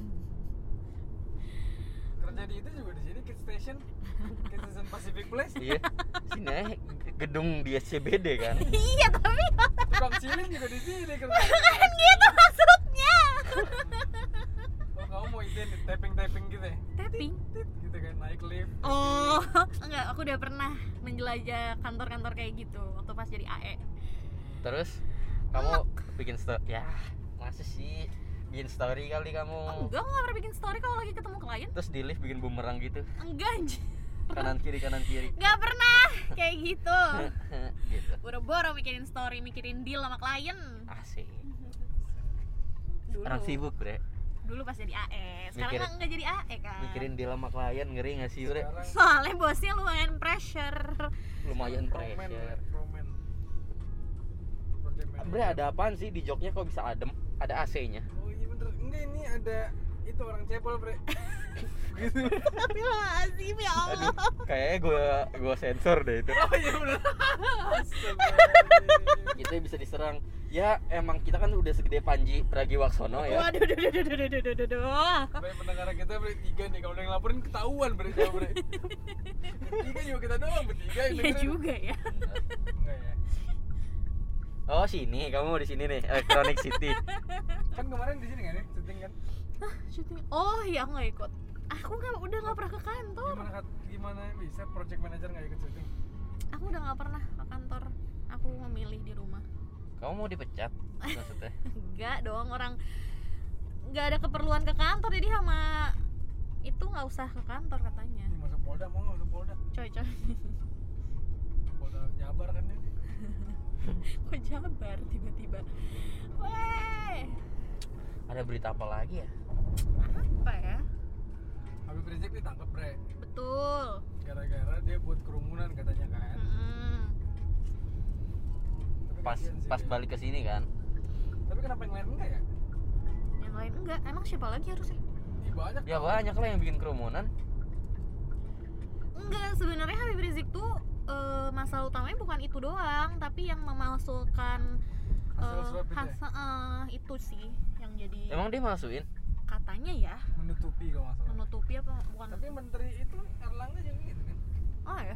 Kerja di itu juga di sini Kid Station, Kid Station Pacific Place. Iya. Sini aja gedung di S C B D kan. Iya tapi Tukang cilin juga di sini kerja. kan gitu maksudnya. Oh, kamu mau ide tapping-tapping gitu ya? Tapping. Tit, gitu kan, naik lift. Oh, enggak, aku udah pernah menjelajah kantor-kantor kayak gitu waktu pas jadi A E. Terus kamu bikin story. Ya, masa sih bikin story kali kamu. Enggak, gue gak pernah bikin story kalau lagi ketemu klien. Terus di lift bikin bumerang gitu. Enggak anjir. Kanan kiri kanan kiri. Gak pernah kayak gitu. Gitu. Boro-boro mikirin story, mikirin deal sama klien. Asik. Dulu. Orang sibuk, Bre. Dulu pas jadi A E. Sekarang Mikir- kan enggak jadi A E kan. Mikirin deal sama klien ngeri enggak sih, Bre? Sekarang Soalnya bosnya lumayan pressure. Lumayan promen, pressure. promen. Project manager. Bre, ada apaan sih di joknya kok bisa adem? Ada A C-nya. Oh iya bener, enggak ini ada itu orang cepol bre. Gitu. Astagfirullahaladzim ya Allah. Aduh, kayaknya gue gue sensor deh itu. Oh iya bener. Kita bisa diserang. Ya emang kita kan udah segede Panji Pragiwaksono ya. Waduh, duh, duh, duh, duh, duh, duh, duh, duh. Bre, pendengar kita bre tiga nih, kalau ada yang laporin ketahuan bre jauh bre. Tiga juga kita doang bertiga yang Iya dengerin. juga ya. Enggak ya. Oh sini, kamu di sini nih, Electronic City. Kan kemarin di sini kan ya, syuting kan. Hah, syuting. Oh iya, aku nggak ikut. Aku nggak, udah nggak pernah ke kantor. Gimana Kat? Gimana bisa project manager nggak ikut syuting? Aku udah nggak pernah ke kantor. Aku memilih di rumah. Kamu mau dipecat maksudnya? Enggak dong, orang nggak ada keperluan ke kantor, jadi sama itu nggak usah ke kantor katanya. Ini masuk Polda mau nggak masuk Polda? Coy coy. Polda Jabar kan ini. Kok Jabar tiba-tiba? Weh, Ada berita apa lagi ya? apa ya? Habib Rizik ditangkap bre. Betul. Gara-gara dia buat kerumunan katanya kan. Mm-mm. Tapi Pas kasihan sih pas dia. balik ke sini kan. Tapi kenapa yang lain enggak ya? Yang lain enggak. Emang siapa lagi harusnya? Ih, banyak. Ya tau. banyak lah yang bikin kerumunan. Enggak, sebenarnya Habib Rizik tuh eh, masalah utamanya bukan itu doang, tapi yang memasukkan Hasil eh, swab itu ya? has- eh, itu sih yang jadi Emang dia masukin? katanya ya Menutupi kalau nggak salah. menutupi apa bukan? Tapi menteri itu Erlangga juga gitu kan. Oh ya.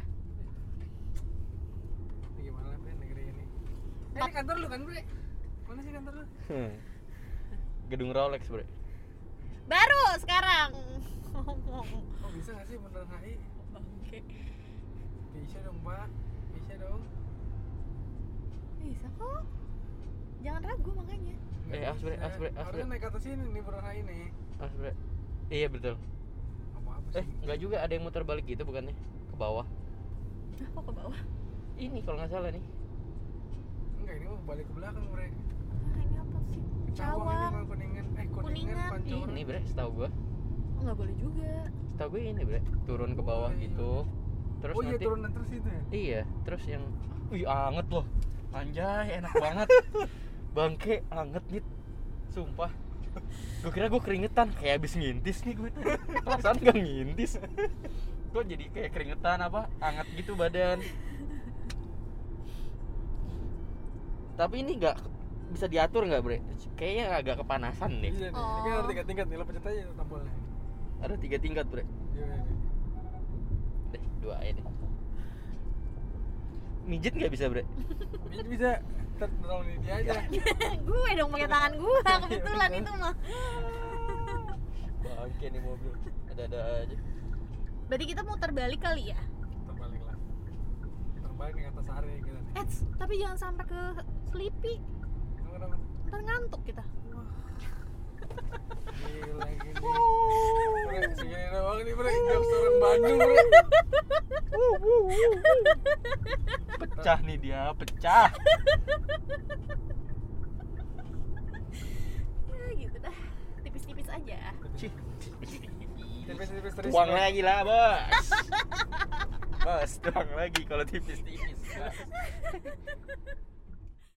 Ini gimana bre negeri ini? Eh, ini kantor lu kan bre? Mana sih kantor lu? Gedung Rolex, Bre. Baru sekarang. Oh bisa nggak sih beneran H I? Bangke. Bisa dong pak, bisa dong. Bisa kok. Jangan ragu makanya. Nggak Eh, as, bre, bisa. as, bre, as, Harusnya bre. naik ke atas sini nih beneran H I nih. Mas, Bre. Iya betul. Apa apa sih? Eh, enggak juga, ada yang muter balik gitu bukannya? Ke bawah. Nah, kok ke bawah? Ini kalau nggak salah nih. Enggak, ini mau balik ke belakang bre. Nah, ini apa sih? Cawang ini Cawang. mah kuningan. Eh kuningan, Kuningan. Pancoran. Ini, Bre, setahu gua. Oh, nggak boleh juga. Setahu gue ini, Bre. Turun ke bawah Oh, iya. gitu. Terus Oh iya nanti turunan terus itu ya? Iya, terus yang wih anget loh. Anjay, enak banget. Bangke anget nih. Sumpah. Gue kira gue keringetan kayak abis ngintis nih gue tuh. Perasaan gak ngintis. Gue jadi kayak keringetan apa? Anget gitu badan. Tapi ini nggak bisa diatur nggak, Bre? Kayaknya agak kepanasan deh. Iya nih, ini Oh. kan ada tiga tingkat nih, lo pencet aja tombolnya. Ada tiga tingkat, Bre. Iya, iya, iya. Deh, dua aja deh. Mijet nggak bisa, Bre? Bisa bisa, ntar tolong ini dia aja. Gue dong pakai tangan gue kebetulan itu mah. Bangke nih mobil. Ada-ada aja. Berarti kita muter balik kali ya? Terbalik lah. Terbalik nih kata Sari kita nih. Eh, tapi jangan sampai ke Sleepy. Kenapa, kenapa? Ntar ngantuk kita. Gila gini. Bre, segini doang nih bre, jokes orang Bandung bre. Pecah nih dia, pecah. Ya gitu dah. Tipis-tipis aja. Cih. Tipis-tipis terus. Tuang lagi lah, Bos. Bos, tuang lagi kalau tipis-tipis. Bos.